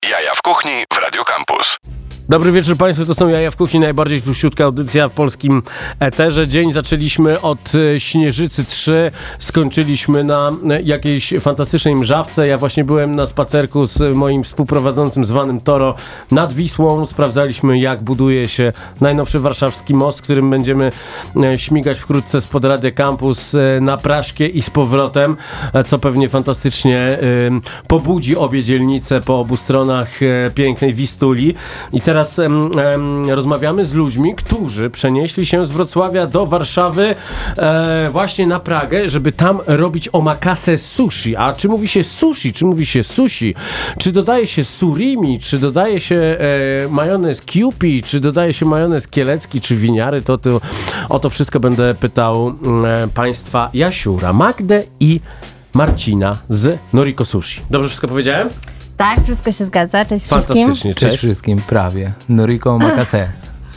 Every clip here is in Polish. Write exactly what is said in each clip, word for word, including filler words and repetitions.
Jaja w kuchni w Radio Campus. Dobry wieczór Państwu, to są Jaja w kuchni, najbardziej plusiutka audycja w polskim eterze. Dzień zaczęliśmy od Śnieżycy trzy, skończyliśmy na jakiejś fantastycznej mrzawce. Ja właśnie byłem na spacerku z moim współprowadzącym zwanym Toro nad Wisłą. Sprawdzaliśmy, jak buduje się najnowszy warszawski most, którym będziemy śmigać wkrótce spod Radia Campus na Praszkie i z powrotem, co pewnie fantastycznie pobudzi obie dzielnice po obu stronach pięknej Wistuli. I teraz Teraz em, em, rozmawiamy z ludźmi, którzy przenieśli się z Wrocławia do Warszawy e, właśnie na Pragę, żeby tam robić omakase sushi. A czy mówi się sushi, czy mówi się sushi? Czy dodaje się surimi, czy dodaje się e, majonez Kewpie, czy dodaje się majonez kielecki, czy winiary? To, to o to wszystko będę pytał e, Państwa Jasiura, Magdę i Marcina z Noriko Sushi. Dobrze wszystko powiedziałem? Tak, wszystko się zgadza. Cześć wszystkim. Fantastycznie, cześć. Cześć wszystkim, prawie. Noriko omakase.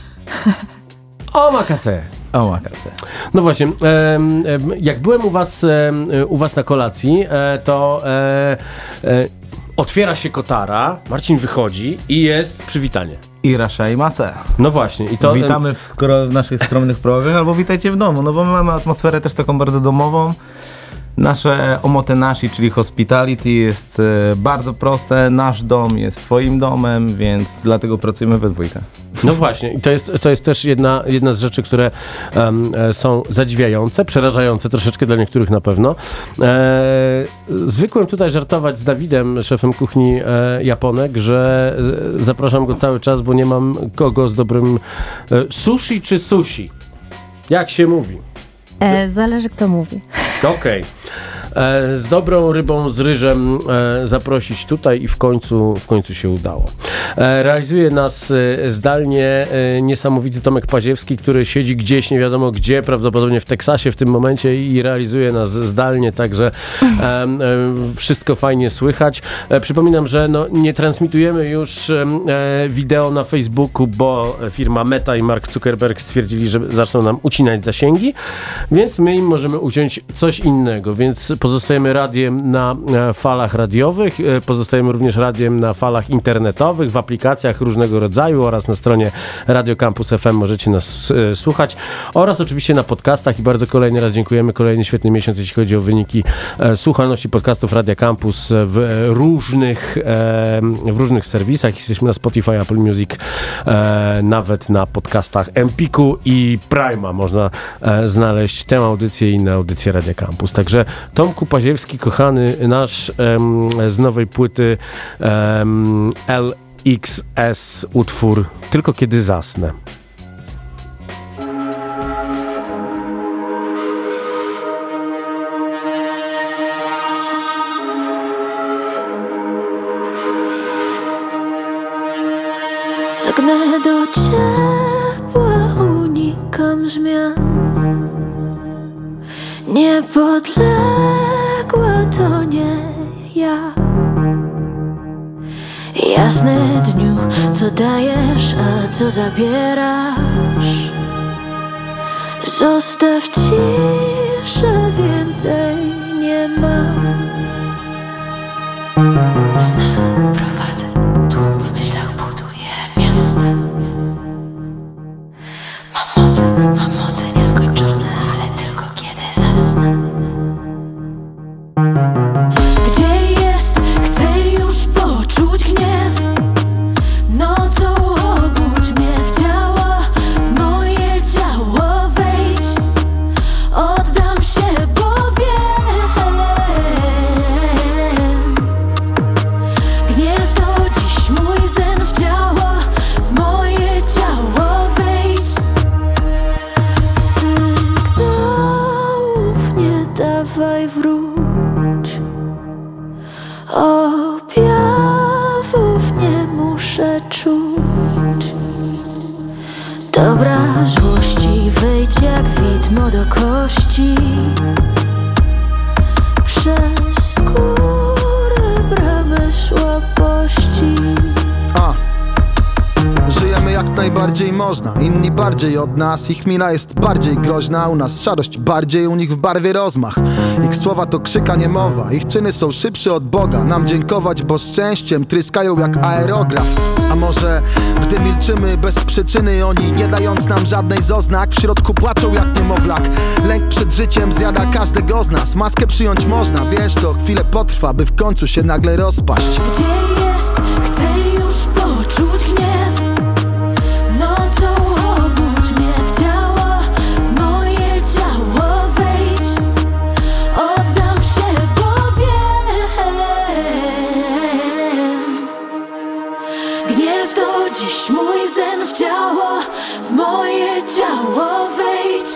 Omakase. Omakase. No właśnie, em, em, jak byłem u was, em, u was na kolacji, e, to e, e, otwiera się kotara, Marcin wychodzi i jest przywitanie. Irasha mase. No właśnie. I to, Witamy w, skoro w naszych skromnych progach, albo witajcie w domu, no bo my mamy atmosferę też taką bardzo domową. Nasze omotenashi, czyli hospitality, jest e, bardzo proste. Nasz dom jest twoim domem, więc dlatego pracujemy we dwójkę. No właśnie, i to jest, to jest też jedna, jedna z rzeczy, które um, są zadziwiające, przerażające troszeczkę dla niektórych na pewno. E, zwykłem tutaj żartować z Dawidem, szefem kuchni e, Japonek, że e, zapraszam go cały czas, bo nie mam kogo z dobrym e, sushi czy sushi? Jak się mówi? E, zależy kto mówi. Okej. E, z dobrą rybą, z ryżem e, zaprosić tutaj i w końcu, w końcu się udało. E, realizuje nas e, zdalnie e, niesamowity Tomek Paziewski, który siedzi gdzieś, nie wiadomo gdzie, prawdopodobnie w Teksasie w tym momencie i realizuje nas zdalnie, także e, e, wszystko fajnie słychać. E, przypominam, że no, nie transmitujemy już e, wideo na Facebooku, bo firma Meta i Mark Zuckerberg stwierdzili, że zaczną nam ucinać zasięgi, więc my im możemy uciąć coś innego, więc pozostajemy radiem na falach radiowych, pozostajemy również radiem na falach internetowych, w aplikacjach różnego rodzaju oraz na stronie Radio Campus F M możecie nas e, słuchać oraz oczywiście na podcastach i bardzo kolejny raz dziękujemy. Kolejny świetny miesiąc, jeśli chodzi o wyniki e, słuchalności podcastów Radia Campus w różnych, e, w różnych serwisach. Jesteśmy na Spotify, Apple Music, e, nawet na podcastach Empiku i Prima można e, znaleźć tę audycję i inne audycje Radia Campus. Także Tomku Paziewski, kochany nasz em, z nowej płyty em, L X S utwór Tylko kiedy zasnę. Pragnę do ciepła, unikam zmian. Niepodległa to nie ja. Jasny dniu, co dajesz, a co zabierasz. Zostaw ciszę, więcej nie mam. Znam, prowadzę tłum, w myślach buduję miasta. Mam moce, mam moce nieskończone, ale tylko kiedy zasnę. Gdzie jest? Chcę już poczuć gniew. Nocą obudź mnie w ciało, w moje ciało wejdź. Oddam się, bo wiem. Gniew to dziś mój sen w ciało, w moje ciało wejdź. Sygnałów nie dawaj, wróć. Objawów nie muszę czuć. Dobra złości, wejdź jak widmo do kości. Przez skórę bramy słabości. A. Żyjemy jak najbardziej bardziej można, inni bardziej od nas. Ich mina jest bardziej groźna, u nas szarość bardziej, u nich w barwie rozmach. Ich słowa to krzyk, a nie mowa, ich czyny są szybsze od Boga. Nam dziękować, bo szczęściem tryskają jak aerograf. A może gdy milczymy bez przyczyny, oni nie dając nam żadnej z oznak, w środku płaczą jak niemowlak. Lęk przed życiem zjada każdego z nas. Maskę przyjąć można, wiesz, to chwilę potrwa, by w końcu się nagle rozpaść. Gdzie jest? Chcę już poczuć gniew. Nocą obudź mnie w ciało, w moje ciało wejdź. Oddam się, powiem. Gniew to dziś mój sen w ciało, w moje ciało wejdź.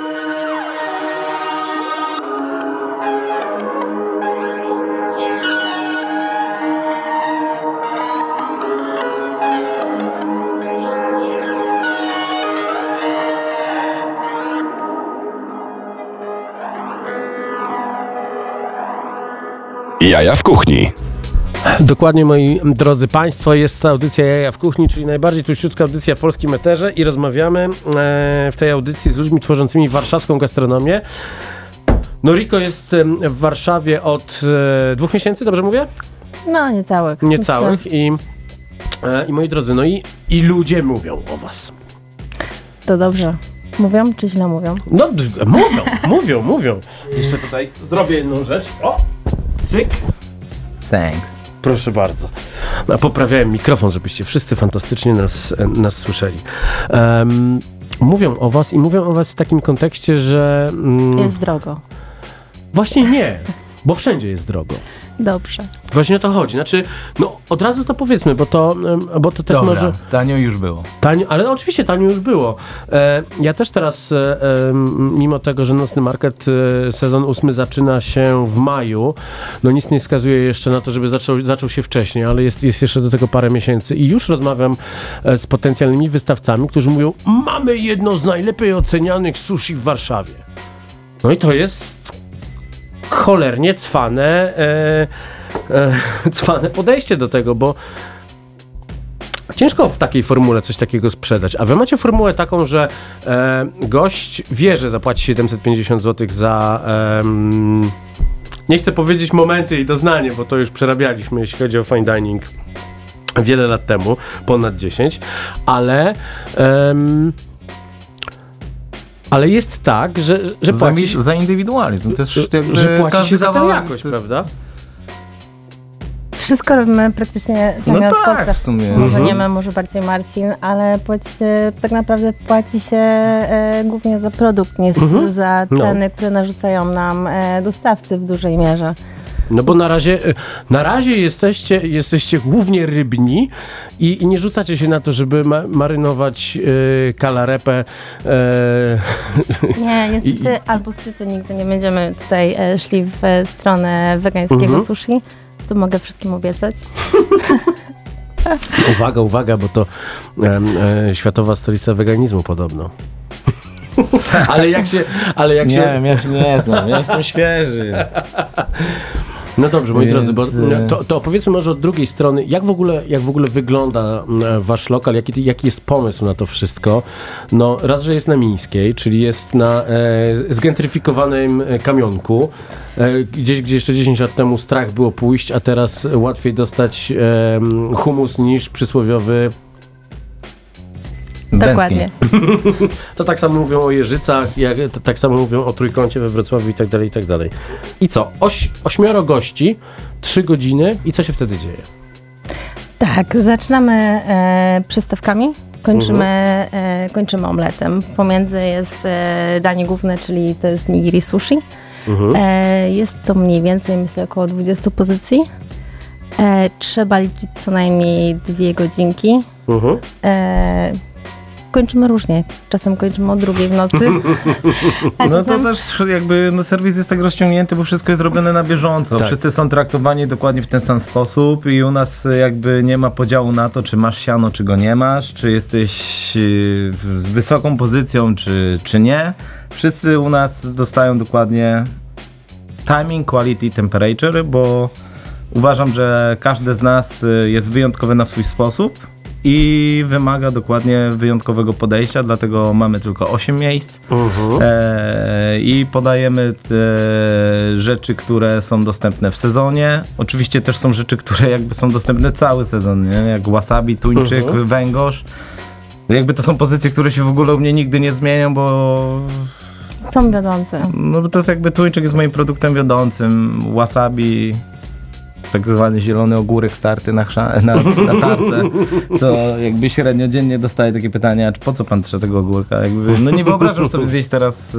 Jaja w kuchni. Dokładnie, moi drodzy Państwo, jest to audycja Jaja w kuchni, czyli najbardziej tuściutka audycja w polskim eterze i rozmawiamy e, w tej audycji z ludźmi tworzącymi warszawską gastronomię. Noriko jest e, w Warszawie od e, dwóch miesięcy, dobrze mówię? No, niecałych. Niecałych i, e, i moi drodzy, no i, i ludzie mówią o was. To dobrze. Mówią czy źle mówią? No, d- mówią, mówią, mówią. Jeszcze tutaj zrobię jedną rzecz. O, cyk. Thanks. Proszę bardzo. No, poprawiałem mikrofon, żebyście wszyscy fantastycznie nas, nas słyszeli. Um, mówią o was i mówią o was w takim kontekście, że... Mm, Jest drogo. Właśnie nie, bo wszędzie jest drogo. Dobrze. Właśnie o to chodzi. Znaczy, no od razu to powiedzmy, bo to, em, bo to też Dobra, może... tanio już było. Tanio, ale oczywiście tanio już było. E, ja też teraz, e, e, mimo tego, że Nocny Market e, sezon ósmy zaczyna się w maju, no nic nie wskazuje jeszcze na to, żeby zaczął, zaczął się wcześniej, ale jest, jest jeszcze do tego parę miesięcy i już rozmawiam e, z potencjalnymi wystawcami, którzy mówią, mamy jedno z najlepiej ocenianych sushi w Warszawie. No i to jest cholernie cwane, e, e, cwane podejście do tego, bo ciężko w takiej formule coś takiego sprzedać. A wy macie formułę taką, że e, gość wie, że zapłaci siedemset pięćdziesiąt złotych za... em, nie chcę powiedzieć momenty i doznanie, bo to już przerabialiśmy, jeśli chodzi o fine dining wiele lat temu, ponad dziesięć, ale... em, ale jest tak, że, że Za, płaci się, za indywidualizm. Też jakby że płaci każdy się za tę kawałek- jakość, prawda? Wszystko robimy praktycznie sami No od tak, podstaw. w sumie. Może Mhm. nie my, może bardziej Marcin, ale płaci się, tak naprawdę płaci się e, głównie za produkt, nie Mhm. za No. ceny, które narzucają nam e, dostawcy w dużej mierze. No bo na razie, na razie jesteście, jesteście głównie rybni i, i nie rzucacie się na to, żeby ma, marynować e, kalarepę. E, Nie, niestety, I- albo stety nigdy nie będziemy tutaj e, szli w e, stronę wegańskiego Mhm. sushi. To mogę wszystkim obiecać. uwaga, uwaga, bo to em, e, światowa stolica weganizmu podobno. ale jak się, ale jak Nie się... wiem, ja się nie znam, ja jestem świeży. No dobrze, moi Więc, drodzy, bo e, to, to opowiedzmy może od drugiej strony, jak w ogóle, jak w ogóle wygląda e, wasz lokal, jaki, jaki jest pomysł na to wszystko? No raz, że jest na Mińskiej, czyli jest na e, zgentryfikowanym e, kamionku, e, gdzieś, gdzie jeszcze dziesięć lat temu strach było pójść, a teraz łatwiej dostać e, humus niż przysłowiowy. Dokładnie. To tak samo mówią o Jeżycach, jak, to tak samo mówią o Trójkącie we Wrocławiu i tak dalej, i tak dalej. I co? Oś, ośmioro gości, trzy godziny i co się wtedy dzieje? Tak, zaczynamy e, przystawkami, kończymy, e, kończymy omletem. Pomiędzy jest e, danie główne, czyli to jest nigiri sushi. Mhm. E, jest to mniej więcej, myślę, około dwadzieścia pozycji. E, trzeba liczyć co najmniej dwie godzinki. Mhm. E, kończymy różnie. Czasem kończymy o drugiej w nocy. A No to czasem- też jakby no, serwis jest tak rozciągnięty, bo wszystko jest robione na bieżąco. Tak. Wszyscy są traktowani dokładnie w ten sam sposób i u nas jakby nie ma podziału na to, czy masz siano, czy go nie masz, czy jesteś yy, z wysoką pozycją, czy, czy nie. Wszyscy u nas dostają dokładnie timing, quality, temperature, bo uważam, że każdy z nas y, jest wyjątkowy na swój sposób i wymaga dokładnie wyjątkowego podejścia, dlatego mamy tylko osiem miejsc uh-huh. e, i podajemy te rzeczy, które są dostępne w sezonie. Oczywiście też są rzeczy, które jakby są dostępne cały sezon, nie? Jak wasabi, tuńczyk, uh-huh. węgorz. Jakby to są pozycje, które się w ogóle u mnie nigdy nie zmienią, bo są wiodące. No bo to jest jakby tuńczyk jest moim produktem wiodącym, wasabi, tak zwany zielony ogórek starty na, chrza- na, na tarce, co jakby średnio dziennie dostaję takie pytania, po co pan trze tego ogórka? Jakby, no nie wyobrażam sobie zjeść teraz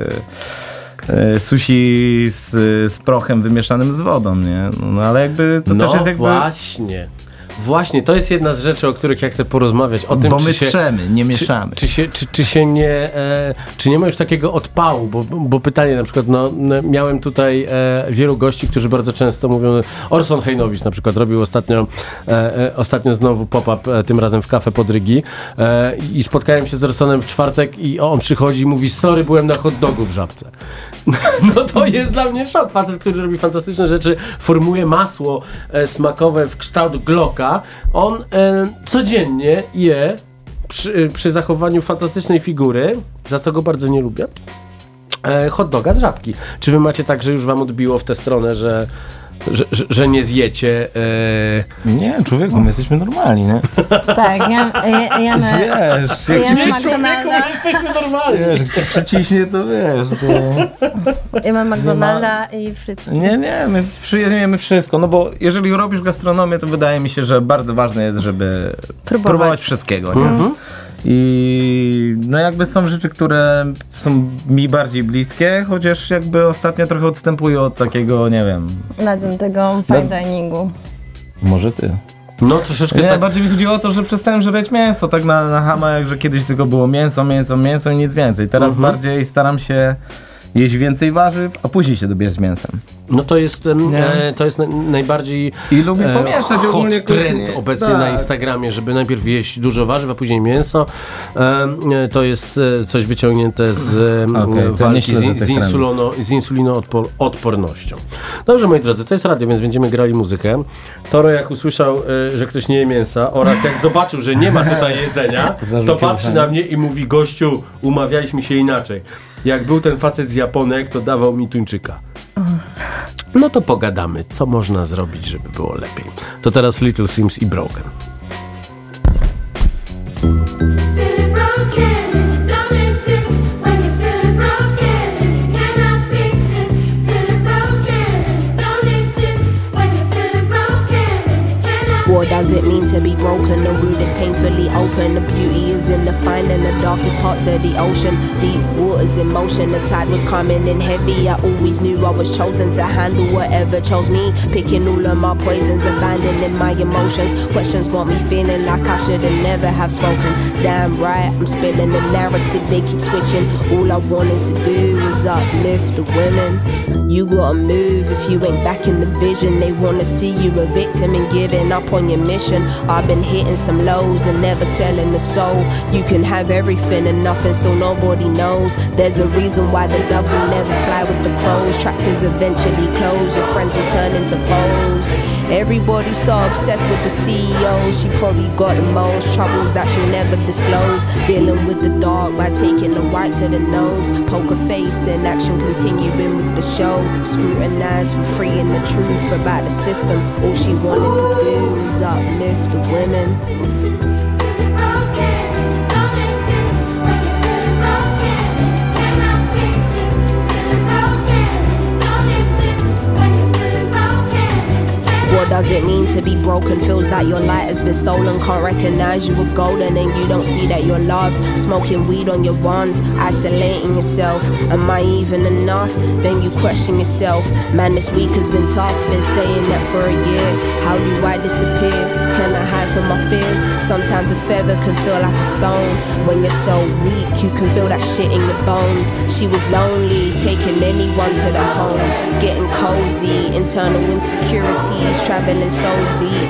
yy, yy, sushi z, z prochem wymieszanym z wodą, nie? No ale jakby to no też jest jakby... właśnie. Właśnie, to jest jedna z rzeczy, o których ja chcę porozmawiać. O tym, bo czy my się, trzemy, nie mieszamy. Czy, czy, się, czy, czy się nie, e, czy nie ma już takiego odpału, bo, bo pytanie na przykład, no, miałem tutaj e, wielu gości, którzy bardzo często mówią, Orson Hejnowicz na przykład robił ostatnio, e, e, ostatnio znowu pop-up, e, tym razem w Cafe Podrygi e, i spotkałem się z Orsonem w czwartek i on przychodzi i mówi, sorry, byłem na hot dogu w Żabce. No to jest dla mnie szok. Facet, który robi fantastyczne rzeczy, formuje masło e, smakowe w kształt Glocka. On e, codziennie je przy, przy zachowaniu fantastycznej figury, za co go bardzo nie lubię, e, hot doga z Żabki. Czy wy macie tak, że już wam odbiło w tę stronę, że Że, że, że nie zjecie. E... Nie, człowieku, my jesteśmy normalni, nie? Tak, ja, ja, ja my, wiesz, jak ja ci my przy McDonalda, jesteśmy normalni. wiesz, jak cię przeciśnie, to wiesz, to... ja mam McDonalda i frytki. Nie, nie, my przyjmiemy wszystko, no bo jeżeli robisz gastronomię, to wydaje mi się, że bardzo ważne jest, żeby Próbować, próbować wszystkiego, nie? Mhm. I no jakby są rzeczy, które są mi bardziej bliskie, chociaż jakby ostatnio trochę odstępuję od takiego, nie wiem... Na tym tego fine diningu. Może ty. No troszeczkę Nie, tak. bardziej mi chodziło o to, że przestałem żreć mięso, tak na, na hamach, że kiedyś tylko było mięso, mięso, mięso i nic więcej. Teraz Mhm. bardziej staram się jeść więcej warzyw, a później się dobierz z mięsem. No to jest, em, Nie. e, to jest na, najbardziej I lubię pomieszać hot ogólnie trend kuchnię. obecnie Tak. na Instagramie, żeby najpierw jeść dużo warzyw, a później mięso. E, to jest e, coś wyciągnięte z e, Okej, to nie walki z, śledzę in- tych z, trendów. insulino, z insulinoodpornością. Dobrze, moi drodzy, to jest radio, więc będziemy grali muzykę. Toro jak usłyszał, e, że ktoś nie je mięsa oraz jak zobaczył, że nie ma tutaj jedzenia, to Zarzucił patrzy uszami. na mnie i mówi, gościu, umawialiśmy się inaczej. Jak był ten facet z Japonek, to dawał mi tuńczyka. No to pogadamy, co można zrobić, żeby było lepiej. To teraz Little Sims i Broken. Feeling broken, don't exist when you're feeling broken and you cannot fix it. Feeling broken, don't exist when you're feeling broken and you cannot. What does it mean to be broken? The wound is painfully open. The beauty is in the finding the darkest parts of the ocean. Deep waters in motion. The tide was coming in heavy. I always knew I was chosen to handle whatever chose me. Picking all of my poisons, abandoning my emotions. Questions got me feeling like I should have never have spoken. Damn right, I'm spilling the narrative. They keep switching. All I wanted to do was uplift the women. You gotta move if you ain't back in the vision. They wanna see you a victim and giving up on your mission. I've been hitting some lows and never telling the soul. You can have everything and nothing, still nobody knows. There's a reason why the doves will never fly with the crows. Tractors eventually close, your friends will turn into foes. Everybody's so obsessed with the C E O. She probably got the most troubles that she'll never disclose. Dealing with the dark by taking the white to the nose. Poker face in action, continuing with the show. Scrutinized for free and the truth about the system. All she wanted to do was uplift the women. Feeling broken, don't exist when you're feeling broken and you cannot fix it. Feeling broken, don't exist when you're feeling broken and you cannot. What does it mean to be broken? Feels like your light has been stolen. Can't recognize you were golden and you don't see that you're loved. Smoking weed on your ones, isolating yourself. Am I even enough? Then you question yourself. Man, this week has been tough. Been saying that for a year. How do I disappear? Can I hide from my fears? Sometimes a feather can feel like a stone. When you're so weak, you can feel that shit in your bones. She was lonely, taking anyone to the home. Getting cozy, internal insecurities, traveling so deep.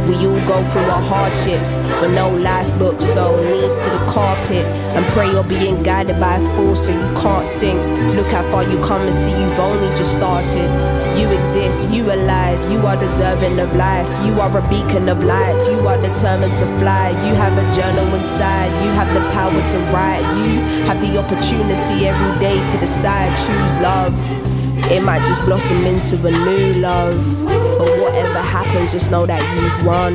We all go through our hardships, but no life book, so knees to the carpet and pray you're being guided by a force so you can't sink. Look how far you come and see you've only just started. You exist, you alive, you are deserving of life. You are a beacon of light, you are determined to fly. You have a journal inside, you have the power to write. You have the opportunity every day to decide, choose love. It might just blossom into a new love. But whatever happens, just know that you've won.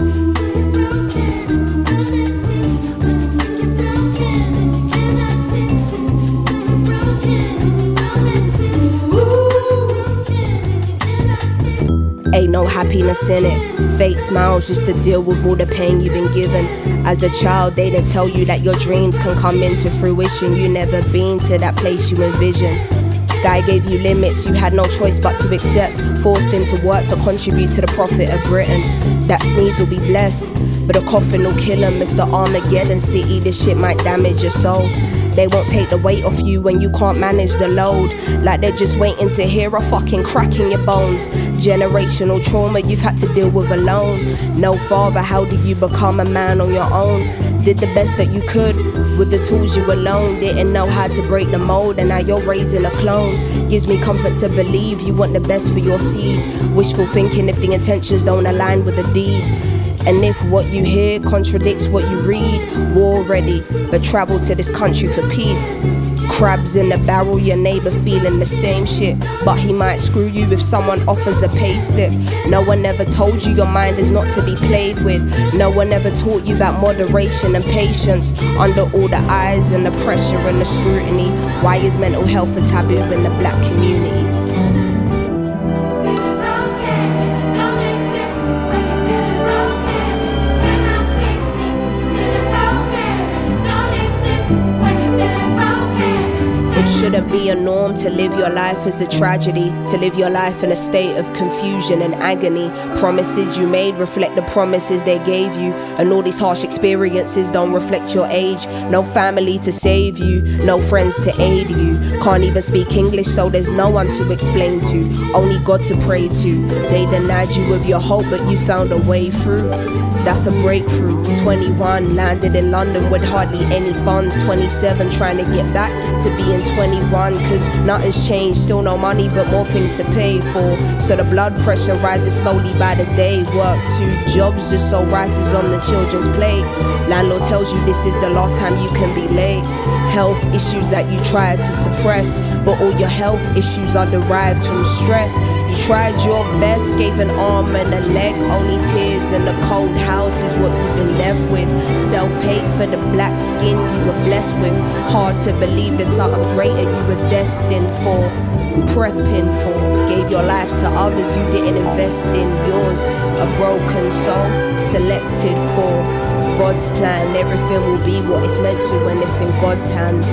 Ain't no happiness in it. Fake smiles just to deal with all the pain you've been given. As a child, they didn't tell you that your dreams can come into fruition. You never been to that place you envision. Sky gave you limits, you had no choice but to accept. Forced into work to contribute to the profit of Britain. That sneeze will be blessed, but a coffin will kill him. It's the Armageddon city, this shit might damage your soul. They won't take the weight off you when you can't manage the load. Like they're just waiting to hear a fucking crack in your bones. Generational trauma you've had to deal with alone. No father, how do you become a man on your own? Did the best that you could with the tools you alone. Didn't know how to break the mold and now you're raising a clone. Gives me comfort to believe you want the best for your seed. Wishful thinking if the intentions don't align with the deed. And if what you hear contradicts what you read, war ready, but travel to this country for peace. Crabs in the barrel, your neighbour feeling the same shit, but he might screw you if someone offers a pay slip. No one ever told you your mind is not to be played with. No one ever taught you about moderation and patience. Under all the eyes and the pressure and the scrutiny, why is mental health a taboo in the black community? Shouldn't be a norm to live your life as a tragedy, to live your life in a state of confusion and agony. Promises you made reflect the promises they gave you, and all these harsh experiences don't reflect your age. No family to save you, no friends to aid you. Can't even speak English, so there's no one to explain to, only God to pray to. They denied you of your hope, but you found a way through. That's a breakthrough. twenty-one, landed in London with hardly any funds. twenty-seven, trying to get back to being twenty-one, cause nothing's changed. Still no money, but more things to pay for. So the blood pressure rises slowly by the day. Work two jobs just so rice is on the children's plate. Landlord tells you this is the last time you can be late. Health issues that you try to suppress, but all your health issues are derived from stress. You tried your best, gave an arm and a leg, only tears in a cold house is what you've been left with. Self-hate for the black skin you were blessed with. Hard to believe there's something greater you were destined for, prepping for. Gave your life to others, you didn't invest in yours. A broken soul, selected for God's plan. Everything will be what it's meant to when it's in God's hands.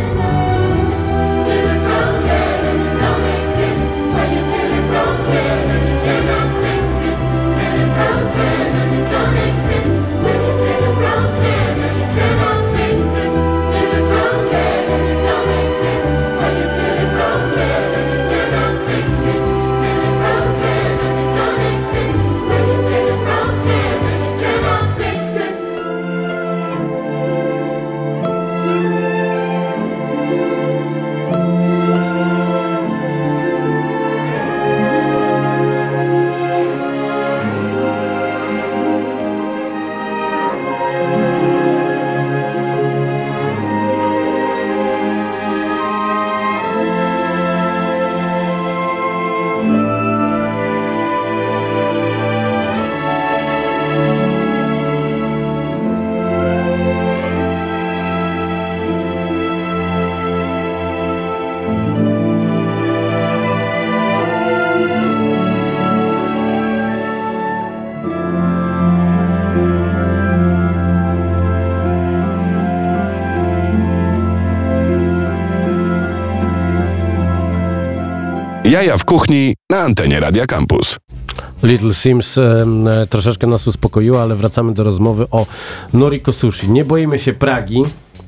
Jaja w kuchni na antenie Radia Campus. Little Sims e, troszeczkę nas uspokoiła, ale wracamy do rozmowy o Noriko Sushi. Nie boimy się Pragi.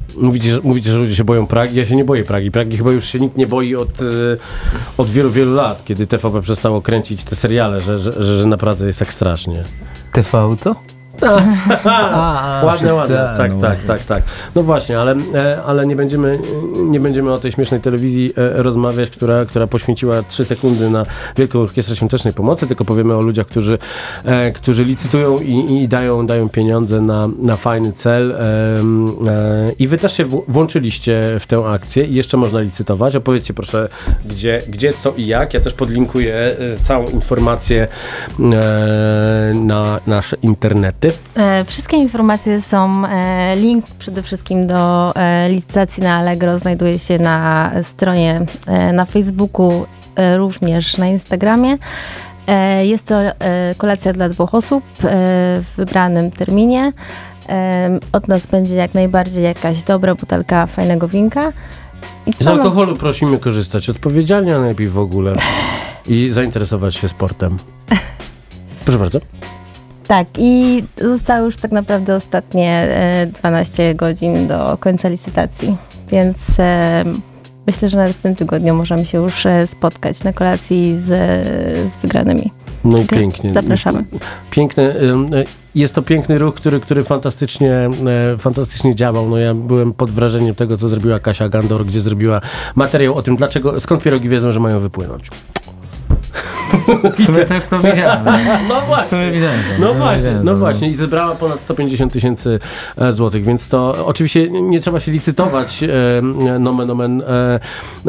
Mówicie, że, mówicie, że ludzie się boją Pragi. Ja się nie boję Pragi. Pragi chyba już się nikt nie boi od, y, od wielu, wielu lat, kiedy T V P przestało kręcić te seriale, że, że, że, że naprawdę jest tak strasznie. T V co? A, ładne, ładne. Tak, no tak, właśnie. tak, tak. No właśnie, ale, e, ale nie, będziemy, nie będziemy o tej śmiesznej telewizji e, rozmawiać, która, która poświęciła trzy sekundy na Wielką Orkiestrę Świątecznej Pomocy, tylko powiemy o ludziach, którzy, e, którzy licytują i, i dają, dają pieniądze na, na fajny cel. E, e, I wy też się w, włączyliście w tę akcję i jeszcze można licytować. Opowiedzcie proszę, gdzie, gdzie co i jak. Ja też podlinkuję e, całą informację e, na nasze internety. E, Wszystkie informacje są, e, link przede wszystkim do e, licytacji na Allegro znajduje się na stronie, e, na Facebooku, e, również na Instagramie. E, Jest to e, kolacja dla dwóch osób e, w wybranym terminie. E, Od nas będzie jak najbardziej jakaś dobra butelka fajnego winka. I Z co, no, alkoholu prosimy korzystać odpowiedzialnie, a najlepiej w ogóle. I zainteresować się sportem. Proszę bardzo. Tak, i zostały już tak naprawdę ostatnie e, dwanaście godzin do końca licytacji, więc e, myślę, że nawet w tym tygodniu możemy się już e, spotkać na kolacji z, z wygranymi. No i Także pięknie. Zapraszamy. Piękny, ym, y, jest to piękny ruch, który, który fantastycznie, e, fantastycznie działał. No ja byłem pod wrażeniem tego, co zrobiła Kasia Gandor, gdzie zrobiła materiał o tym, dlaczego, skąd pierogi wiedzą, że mają wypłynąć. W sumie też to widziałem. No W właśnie. sumie widziałem to. No W sumie właśnie, widziałem no to. właśnie i zebrała ponad sto pięćdziesiąt tysięcy e, złotych, więc to oczywiście nie trzeba się licytować e, nomen omen e, e,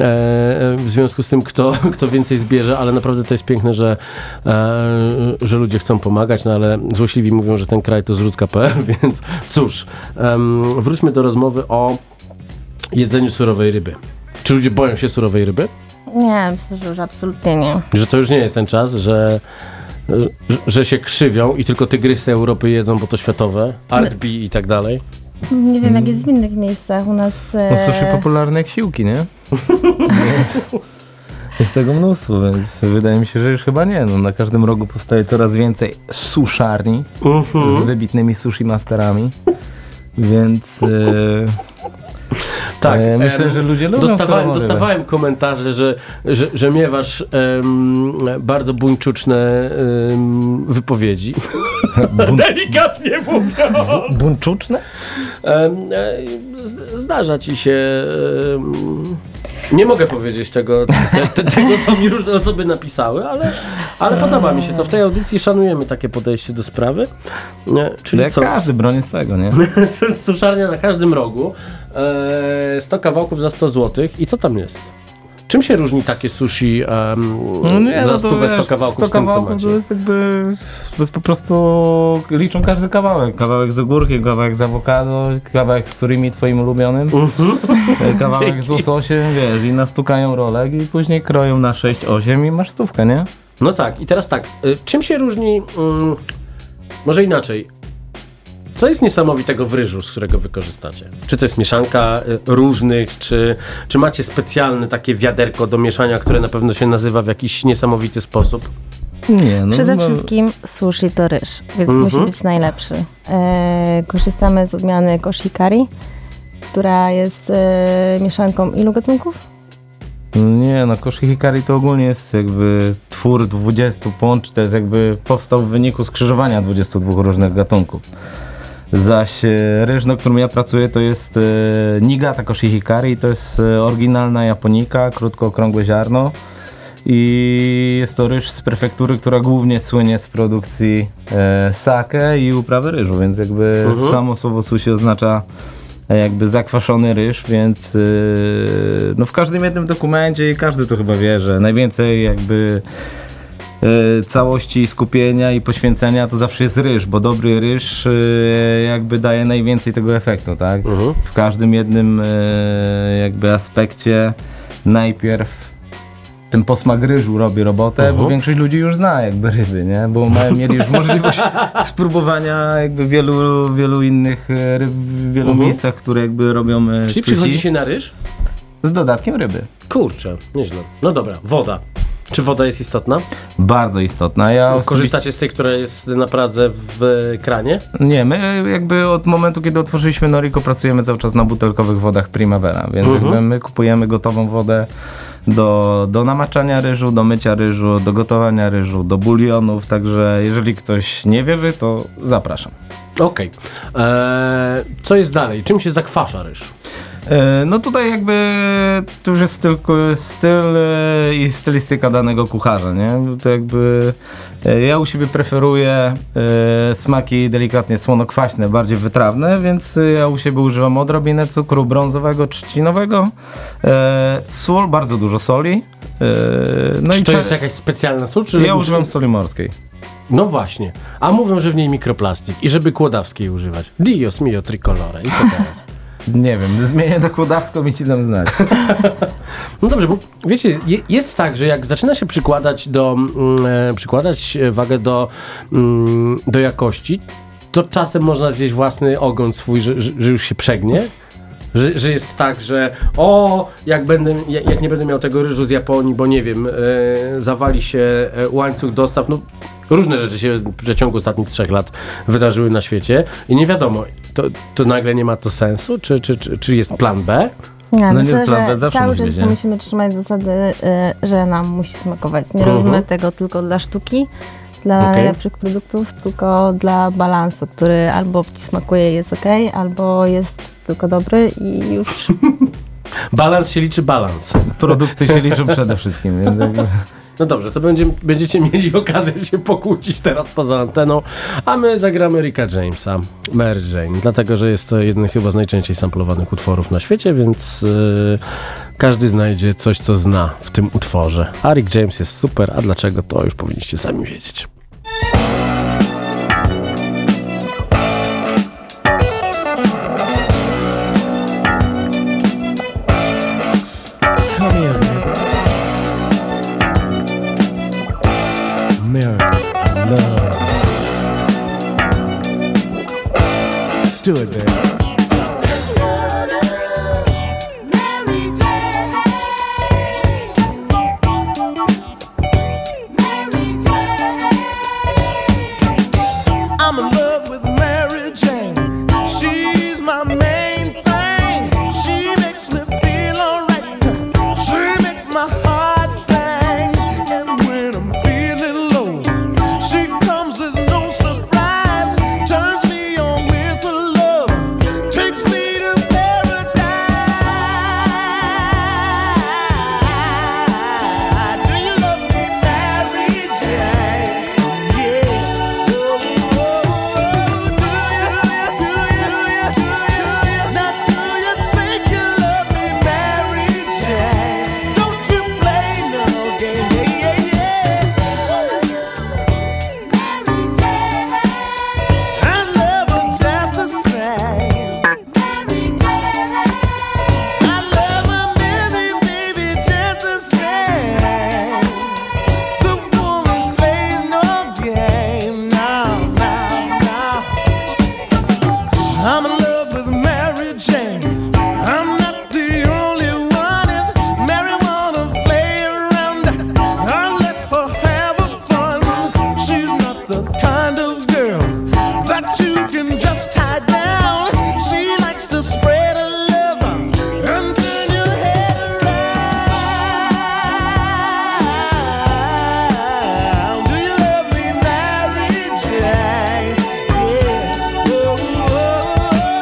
w związku z tym, kto, kto więcej zbierze, ale naprawdę to jest piękne, że, e, że ludzie chcą pomagać, no ale złośliwi mówią, że ten kraj to zrzutka kropka pe el, więc cóż, em, wróćmy do rozmowy o jedzeniu surowej ryby. Czy ludzie boją się surowej ryby? Nie, myślę, że już absolutnie nie. Że to już nie jest ten czas, że, że, że się krzywią i tylko tygrysy Europy jedzą, bo to światowe, Art B i tak dalej. Nie wiem, jak jest w innych miejscach u nas. E, No sushi popularne jak siłki, nie? Więc jest tego mnóstwo, więc wydaje mi się, że już chyba nie. No, na każdym rogu powstaje coraz więcej suszarni z wybitnymi sushi masterami, więc... E, Tak, E, myślę, em, że ludzie lubią dostawałem, surową rybę. dostawałem komentarze, że, że, że miewasz em, bardzo buńczuczne em, wypowiedzi. Delikatnie mówiąc. Buńczuczne? Em, e, z- Zdarza ci się... em, Nie mogę powiedzieć tego, te, te, tego, co mi różne osoby napisały, ale, ale podoba mi się to. W tej audycji szanujemy takie podejście do sprawy. Nie, czyli Jak co? każdy broni swego, nie? Suszarnia na każdym rogu. E, sto kawałków za sto złotych. I co tam jest? Czym się różni takie sushi um, za stówę sto kawałków z tym, co macie? to jest jakby, to jest po prostu, liczą każdy kawałek. Kawałek z ogórkiem, kawałek z awokado, kawałek z surimi twoim ulubionym, e, kawałek z łososiem, wiesz, i nastukają rolek i później kroją na sześć osiem i masz stówkę, nie? No tak, i teraz tak. y, Czym się różni, mm, może inaczej, co jest niesamowitego w ryżu, z którego wykorzystacie? Czy to jest mieszanka y, różnych, czy, czy macie specjalne takie wiaderko do mieszania, które na pewno się nazywa w jakiś niesamowity sposób? Nie, no. Przede no, wszystkim sushi to ryż, więc Mhm. musi być najlepszy. E, korzystamy z odmiany koshikari, która jest e, mieszanką ilu gatunków? Nie, no Koshi Hikari to ogólnie jest jakby twór dwudziestu połączeń, to jest jakby powstał w wyniku skrzyżowania dwudziestu dwóch różnych gatunków. Zaś e, ryż, na którym ja pracuję, to jest e, Niigata Koshi Hikari, to jest e, oryginalna japonika, krótko okrągłe ziarno i jest to ryż z prefektury, która głównie słynie z produkcji e, sake i uprawy ryżu, więc jakby Mhm. samo słowo sushi oznacza jakby zakwaszony ryż, więc yy, no w każdym jednym dokumencie i każdy to chyba wie, że najwięcej jakby yy, całości skupienia i poświęcenia to zawsze jest ryż, bo dobry ryż yy, jakby daje najwięcej tego efektu, tak? Mhm. W każdym jednym yy, jakby aspekcie najpierw ten posmak ryżu robi robotę, Mhm. bo większość ludzi już zna jakby ryby, nie? Bo mają, mieli już możliwość spróbowania jakby wielu, wielu innych e, ryb w wielu Mhm. miejscach, które jakby robią e, Czyli sushi przychodzi się na ryż? z dodatkiem ryby. Kurczę, nieźle. No dobra, woda. Czy woda jest istotna? Bardzo istotna. Ja osobiście... Korzystacie z tej, która jest na Pradze w kranie? Nie, my jakby od momentu, kiedy otworzyliśmy Noriko, pracujemy cały czas na butelkowych wodach Primavera, więc Mhm. jakby my kupujemy gotową wodę do, do namaczania ryżu, do mycia ryżu, do gotowania ryżu, do bulionów, także jeżeli ktoś nie wierzy, to zapraszam. Okej. Eee, Co jest dalej? Czym się zakwasza ryż? E, No tutaj jakby to już jest tylko styl e, i stylistyka danego kucharza, nie? To jakby e, ja u siebie preferuję e, smaki delikatnie słonokwaśne, bardziej wytrawne, więc e, ja u siebie używam odrobinę cukru brązowego, trzcinowego, e, sól, bardzo dużo soli. E, no Czy i to cza- jest jakaś specjalna sól? Czy Ja używam soli morskiej. No właśnie. A mówią, że w niej mikroplastik i żeby kłodawskiej używać. Dios mio tricolore. I co teraz? Nie wiem, zmienię do kłodawską i ci dam znać. No dobrze, bo wiecie, je, jest tak, że jak zaczyna się przykładać do, mm, e, przykładać wagę do, mm, do jakości, to czasem można zjeść własny ogon swój, że, że że już się przegnie. Że, że jest tak, że o, jak, będę, jak jak nie będę miał tego ryżu z Japonii, bo nie wiem, e, zawali się e, łańcuch dostaw, no różne rzeczy się w przeciągu ostatnich trzech lat wydarzyły na świecie i nie wiadomo, to, to nagle nie ma to sensu, czy, czy, czy, czy jest plan B? Ja No nie myślę, jest prawda, że zawsze cały musi czas być, nie? musimy trzymać zasady, y, że nam musi smakować. Nie Mhm. robimy tego tylko dla sztuki, dla Okej. najlepszych produktów, tylko dla balansu, który albo ci smakuje i jest ok, albo jest tylko dobry i już. Balans się liczy balans. Produkty się liczą przede wszystkim, więc jakby... No dobrze, to będzie, będziecie mieli okazję się pokłócić teraz poza anteną, a my zagramy Ricka Jamesa, Mary Jane, dlatego, że jest to jeden chyba z najczęściej samplowanych utworów na świecie, więc yy, każdy znajdzie coś, co zna w tym utworze. A Rick James jest super, a dlaczego, to już powinniście sami wiedzieć. Come here, baby. Mary, I love you. Do it, baby. I'm in love with Mary Jane. She's my main thing. She makes me feel alright. She makes my heart sing. And when I'm feeling low, she comes as no surprise. Turns me on with her love. Takes me to paradise. Do you love me, Mary Jane? Yeah. Oh, oh, oh. Do you, do you, do you? Now do you think you love me, Mary Jane? Don't you play no game, yeah, yeah, yeah. Mary Jane, I love her just the same. Mary Jane, I love her, Mary, baby, just the same. The woman plays no game, no, no, no. I'm in love with Mary Jane. I'm not the only one. If Mary wanna play around, I'll let her have her fun. She's not the kind of girl that you can just tie down. She likes to spread her love and turn your head around. Do you love me, Mary Jane? Yeah. Oh, oh, oh.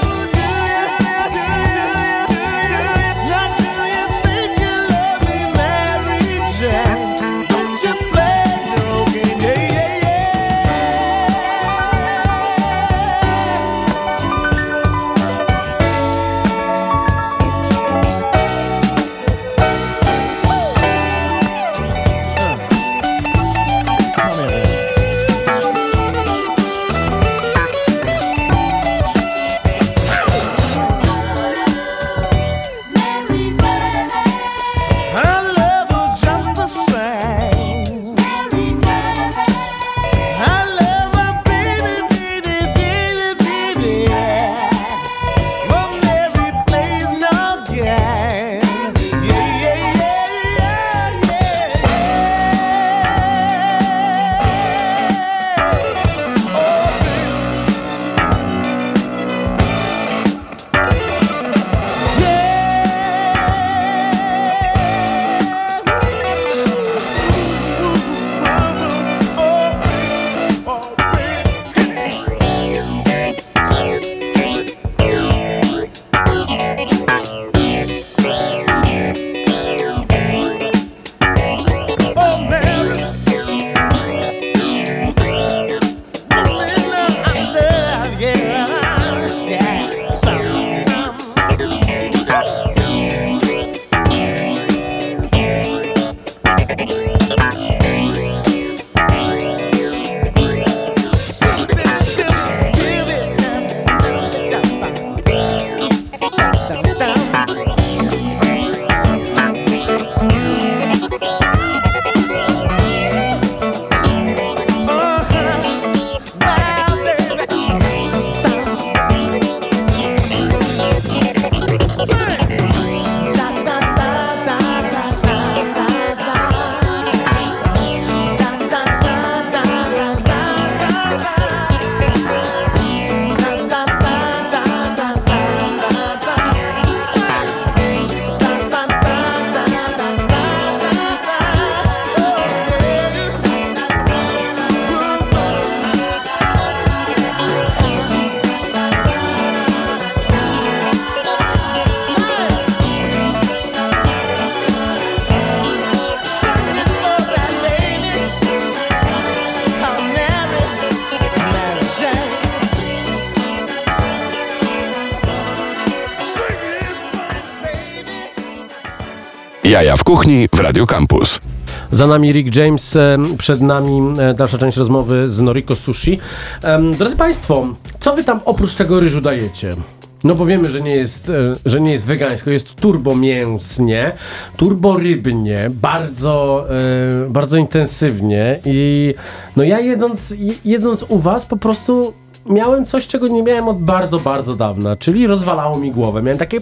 Jaja w kuchni w Radio Campus. Za nami Rick James, e, przed nami e, dalsza część rozmowy z Noriko Sushi. Em, Drodzy Państwo, co wy tam oprócz tego ryżu dajecie? No bo wiemy, że nie jest, e, że nie jest wegańsko, jest turbo mięsnie, turbo rybnie, bardzo, e, bardzo intensywnie i no ja jedząc, je- jedząc u was po prostu miałem coś, czego nie miałem od bardzo, bardzo dawna, czyli rozwalało mi głowę. Miałem takie...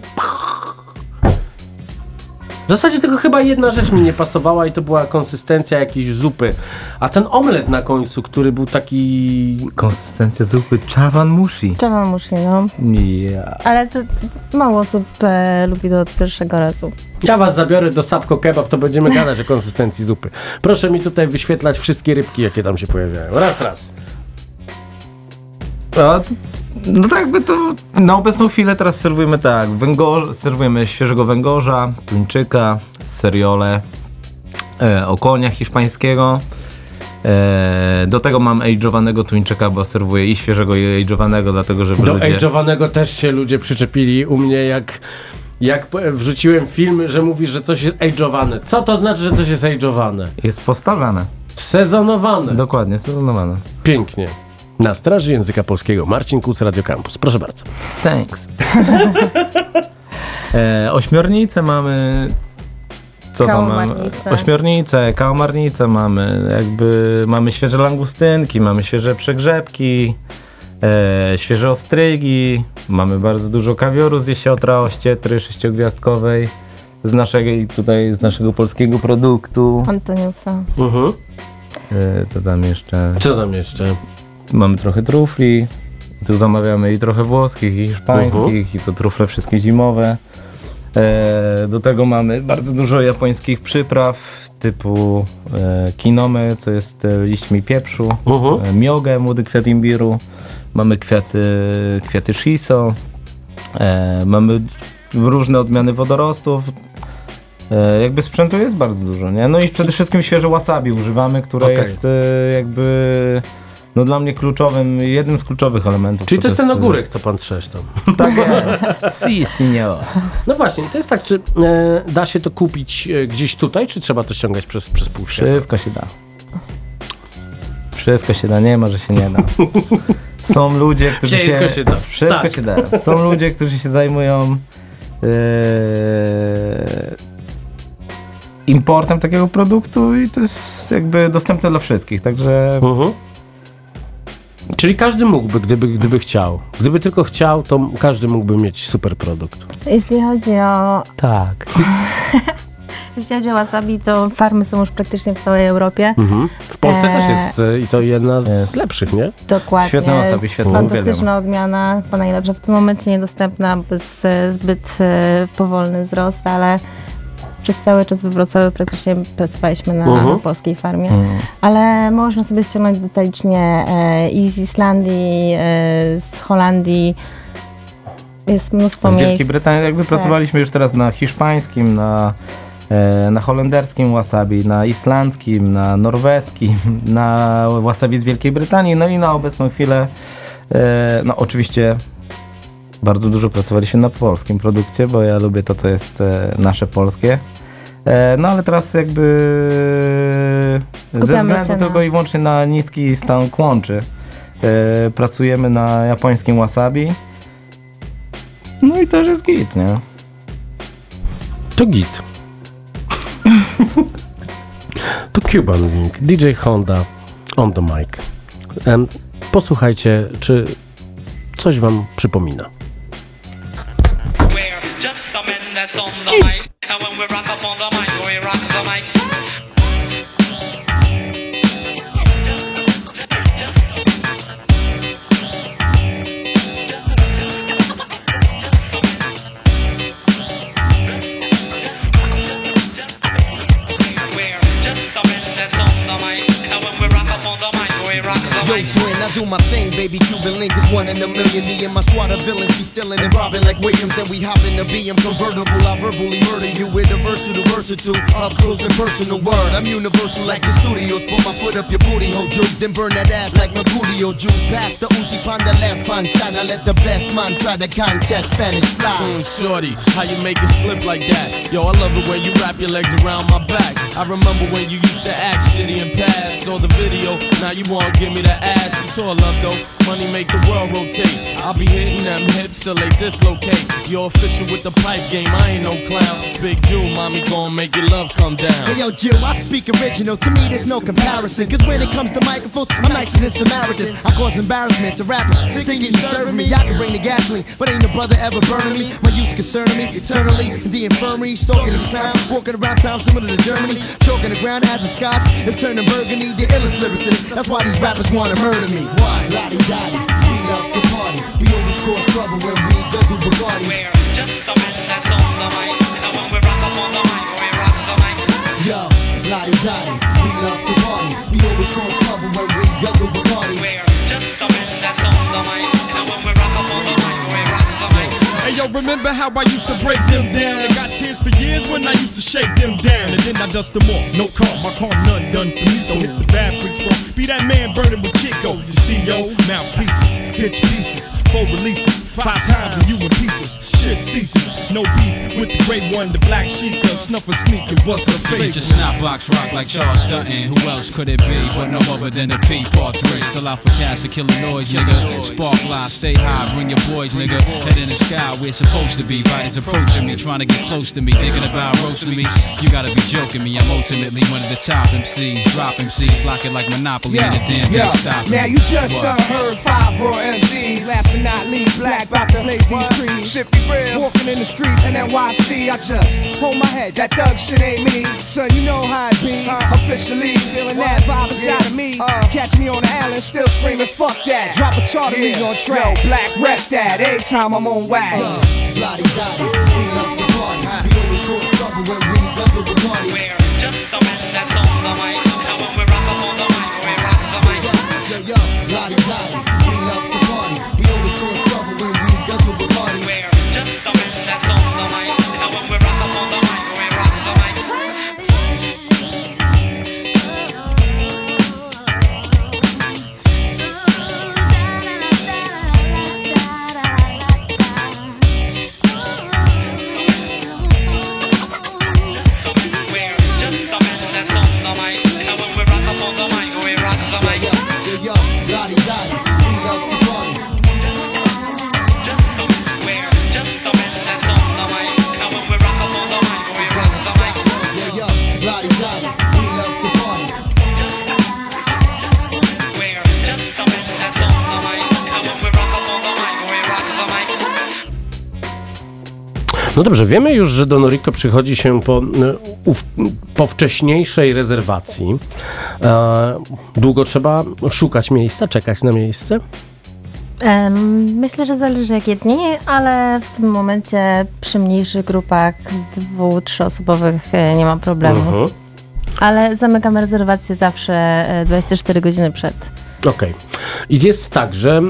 W zasadzie tylko chyba jedna rzecz mi nie pasowała i to była konsystencja jakiejś zupy. A ten omlet na końcu, który był taki... Konsystencja zupy chawan mushi. Trzeba musi, no. Ja. Ale to mało osób e, lubi do pierwszego razu. Ja was zabiorę do Sapko Kebab, to będziemy gadać o konsystencji zupy. Proszę mi tutaj wyświetlać wszystkie rybki, jakie tam się pojawiają. Raz, raz. A, t- no tak jakby to na obecną chwilę teraz serwujemy tak, węgorz, serwujemy świeżego węgorza, tuńczyka, seriole, e, okonia hiszpańskiego. E, do tego mam age'owanego tuńczyka, bo serwuję i świeżego i age'owanego, dlatego żeby Do ludzie... age'owanego też się ludzie przyczepili u mnie, jak, jak p- wrzuciłem film, że mówisz, że coś jest age'owane. Co to znaczy, że coś jest age'owane? Jest postarzane. Sezonowane. Dokładnie, sezonowane. Pięknie. Na straży języka polskiego Marcin Kuc, Radio Campus. Proszę bardzo. Thanks. e, ośmiornicę mamy... Co tam mamy? Kałamarnicę. Ośmiornicę, kałamarnicę mamy, jakby mamy świeże langustynki, mamy świeże przegrzebki, e, świeże ostrygi, mamy bardzo dużo kawioru z jesiotra, ościetry sześciogwiazdkowej, z naszego, tutaj z naszego polskiego produktu. Antoniusa. Mhm. E, co tam jeszcze? Co tam jeszcze? Mamy trochę trufli, tu zamawiamy i trochę włoskich, i hiszpańskich, i to trufle wszystkie zimowe. E, do tego mamy bardzo dużo japońskich przypraw, typu e, kinome, co jest e, liśćmi pieprzu, Mhm. e, miogę, młody kwiat imbiru, mamy kwiaty, kwiaty shiso, e, mamy różne odmiany wodorostów. E, jakby sprzętu jest bardzo dużo, nie? No i przede wszystkim świeże wasabi używamy, które Okej. jest e, jakby no dla mnie kluczowym, jednym z kluczowych elementów. Czyli to jest ten e, ogórek, co pan trzesz tam. Tak jest. Si, signor. No właśnie, to jest tak, czy e, da się to kupić e, gdzieś tutaj, czy trzeba to ściągać przez, przez pół świata? Wszystko się da. Wszystko się da, nie ma, że się nie da. Są ludzie, którzy Wszystko się... się da. Wszystko Tak. się da. Są ludzie, którzy się zajmują e, importem takiego produktu i to jest jakby dostępne dla wszystkich, także Mhm. Czyli każdy mógłby, gdyby, gdyby chciał. Gdyby tylko chciał, to każdy mógłby mieć super produkt. Jeśli chodzi o, tak. jeśli chodzi o wasabi, to farmy są już praktycznie w całej Europie. Mhm. W Polsce Eee. też jest e, i to jedna z Jest. lepszych, nie? Dokładnie. Świetne wasabi, świetne, Fantastyczna uwielbiam. odmiana, chyba najlepsza w tym momencie niedostępna, bo jest e, zbyt e, powolny wzrost, ale przez cały czas we Wrocławiu praktycznie pracowaliśmy na, Mhm. na polskiej farmie. Mm. Ale można sobie ściągnąć detalicznie e, i z Islandii, e, z Holandii. Jest mnóstwo Z miejsc. Wielkiej Brytanii jakby pracowaliśmy już teraz na hiszpańskim, na, e, na holenderskim wasabi, na islandzkim, na norweskim, na wasabi z Wielkiej Brytanii, no i na obecną chwilę, e, no oczywiście bardzo dużo pracowaliśmy na polskim produkcie, bo ja lubię to, co jest e, nasze polskie. E, no ale teraz jakby ze Skupiamy względu się na- tylko i wyłącznie na niski stan kłączy e, pracujemy na japońskim wasabi. No i też jest git, nie? To git. To Cuban Link, D J Honda on the mic. Em, posłuchajcie, czy coś wam przypomina. We're just some men that's on the mic. And when we rock up on the mic, we rock the mic. We're just some men that's on the mic. And when we rock up on the mic, we rock the Yo, mic. twin, I do my thing, baby. maybe Cuban link is one in a million. Me and my squad of villains be stealing and robbing like Williams. Then we hop in the B M convertible. I verbally murder you with a verse to the versatile. Up close and personal word. I'm universal like the studios. Put my foot up your booty hole, dude. Then burn that ass like Mercurio. Juke past the Uzi pan the left hand side. I let the best man try the contest. Spanish fly. Mm, shorty, how you make it slip like that? Yo, I love it when you wrap your legs around my back. I remember when you used to act shitty and pass. Saw the video, now you wanna give me the ass. It's all love though, money make the world rotate. I'll be hitting them hips till they dislocate. You're official with the pipe game, I ain't no clown. Big Jew, mommy gon' make your love come down. Hey yo, Jill, I speak original, to me there's no comparison. Cause when it comes to microphones, I'm nicer than Samaritans. I cause embarrassment to rappers, thinking you serving me. I can bring the gasoline, but ain't no brother ever burning me. My youth concerning me, eternally in the infirmary. Stalking this town, walking around town similar to Germany. Choking the ground as a Scots, it's turning burgundy. The illest lyricist, that's why these rappers wanna murder me. Why? Lottie Dottie, we love to party. We always cause trouble when we guzzle Bugatti. We're just some men that's on the mic. And when we rock up on the mic, we rock the mic. Yo, Lottie Dottie, we love to party. We always cause trouble when we guzzle Bugatti. We're just some men that's on the mic. And when we rock up on the mic, we rock the mic. Hey yo, remember how I used to break them down? I got tears for years when I used to shake them down. And then I dust them off, no car, my car none done for me. Don't hit the bad freaks, bro. Be that man burning with Chico. You see, yo, mouthpieces, pitch pieces, four releases, five times and you in pieces. Shit ceases, no beef with the great one, the black sheep. Snuff a sneak and bust her face. Just snap box rock like Charles Dutton. Who else could it be but no other than the P Part three? Still out for cash to kill the noise, nigga. Spark live, stay high, bring your boys, nigga. Head in the sky, we're supposed to be. Bodies approaching me, trying to get close to me, thinking about roasting me. You gotta be joking me, I'm ultimately one of the top M Cs. Drop M Cs, lock it like Monopoly and the damn yeah. can't stop. Now you just What? done heard five raw M Cs. Last but not least, black about to blaze these trees. Shit be real. Walking in the streets in N Y C, I just hold my head. That thug shit ain't me. Son, you know how it be. Uh, Officially feeling that vibe inside of me. Uh, Catch me on the island, still screaming, fuck that. Drop a chart of me on track. Yo, black rep that. Every time I'm on wax. Uh, Lottie Dottie, we love to party. We always cause trouble when we guzzle Bugatti. We're just some men that's on the mic. And when we rock up on the mic, we rock the mic. Yo, yo, Lottie Dottie, we love to party. We always cause trouble when we guzzle Bugatti. We're just some men that's on the mic. And when we rock up on the mic, we rock the mic. No dobrze, wiemy już, że do Noriko przychodzi się po, ów, po wcześniejszej rezerwacji. E, długo trzeba szukać miejsca, czekać na miejsce? Um, myślę, że zależy jak jedni, ale w tym momencie przy mniejszych grupach dwu-, trzyosobowych nie ma problemu. Uh-huh. Ale zamykamy rezerwację zawsze dwadzieścia cztery godziny przed. Okej. Okay. I jest tak, że e,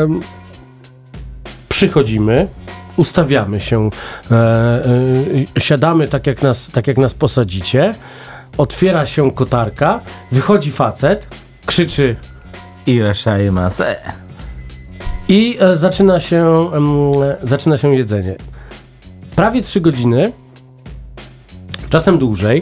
przychodzimy, ustawiamy się, e, e, siadamy tak jak, nas, tak jak nas posadzicie, otwiera się kotarka, wychodzi facet, krzyczy Irashaimase. I e, zaczyna się e, zaczyna się jedzenie. Prawie trzy godziny, czasem dłużej.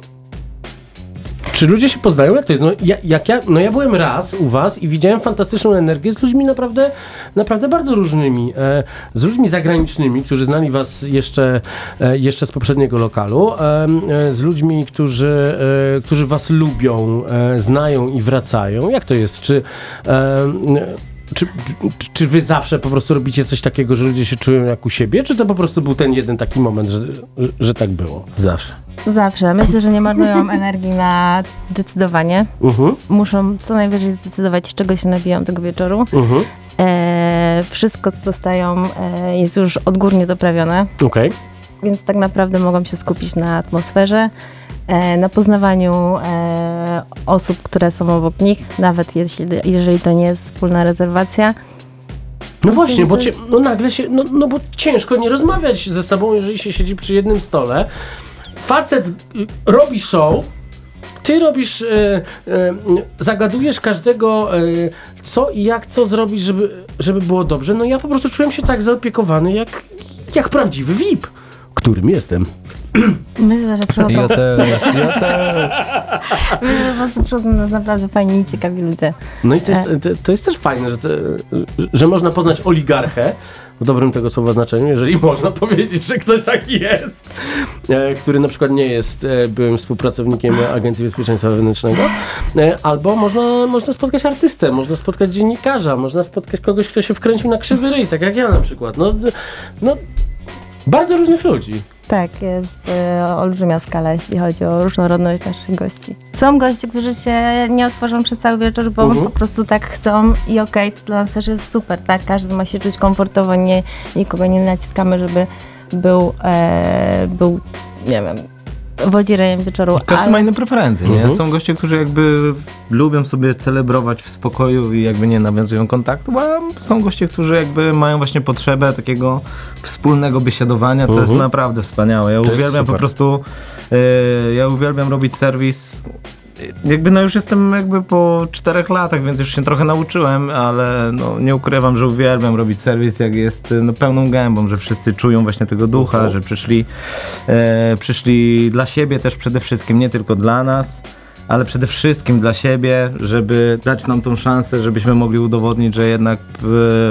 Czy ludzie się poznają? Jak to jest? No, ja, jak ja, no ja byłem raz u was i widziałem fantastyczną energię z ludźmi naprawdę, naprawdę bardzo różnymi. E, z ludźmi zagranicznymi, którzy znali was jeszcze, e, jeszcze z poprzedniego lokalu. E, e, z ludźmi, którzy, e, którzy was lubią, e, znają i wracają. Jak to jest? Czy... E, Czy, czy, czy wy zawsze po prostu robicie coś takiego, że ludzie się czują jak u siebie, czy to po prostu był ten jeden taki moment, że, że tak było? Zawsze. Zawsze. Myślę, że nie marnują energii na decydowanie. Uh-huh. Muszą co najwyżej zdecydować, czego się nabiją tego wieczoru. Uh-huh. E, wszystko, co dostają, e, jest już odgórnie doprawione. Okay. Więc tak naprawdę mogą się skupić na atmosferze, e, na poznawaniu e, e, osób, które są obok nich, nawet jeśli, jeżeli to nie jest wspólna rezerwacja. No właśnie, bo to cię, jest- no nagle się, no, no bo ciężko nie rozmawiać ze sobą, jeżeli się siedzi przy jednym stole. Facet y, robi show, ty robisz, y, y, zagadujesz każdego, y, co i jak, co zrobić, żeby, żeby było dobrze. No ja po prostu czułem się tak zaopiekowany, jak, jak prawdziwy V I P, którym jestem. Myślę, że przychodzą... Ja też, ja też. Myślę, że po prostu przychodzą nas naprawdę fajni i ciekawi ludzie. No i to jest, E, to, to jest też fajne, że, te, że można poznać oligarchę, w dobrym tego słowa znaczeniu, jeżeli można powiedzieć, że ktoś taki jest, e, który na przykład nie jest e, byłym współpracownikiem Agencji Bezpieczeństwa Wewnętrznego, e, albo można, można spotkać artystę, można spotkać dziennikarza, można spotkać kogoś, kto się wkręcił na krzywy ryj, tak jak ja na przykład. No, no bardzo różnych ludzi. Tak, jest e, olbrzymia skala, jeśli chodzi o różnorodność naszych gości. Są goście, którzy się nie otworzą przez cały wieczór, bo Mhm. po prostu tak chcą i okej, to dla nas też jest super, tak? Każdy ma się czuć komfortowo, nie, nikogo nie naciskamy, żeby był, e, był nie wiem, wodzirejem wieczoru. Każdy ale... ma inne preferencje, nie? Mhm. Są goście, którzy jakby lubią sobie celebrować w spokoju i jakby nie nawiązują kontaktu, a są goście, którzy jakby mają właśnie potrzebę takiego wspólnego biesiadowania, co Mhm. jest naprawdę wspaniałe. Ja To jest uwielbiam po super. prostu, e, ja uwielbiam robić serwis. Jakby no już jestem jakby po czterech latach, więc już się trochę nauczyłem, ale no nie ukrywam, że uwielbiam robić serwis, jak jest no, pełną gębą, że wszyscy czują właśnie tego ducha, Mhm. że przyszli, e, przyszli dla siebie też przede wszystkim, nie tylko dla nas, ale przede wszystkim dla siebie, żeby dać nam tą szansę, żebyśmy mogli udowodnić, że jednak e,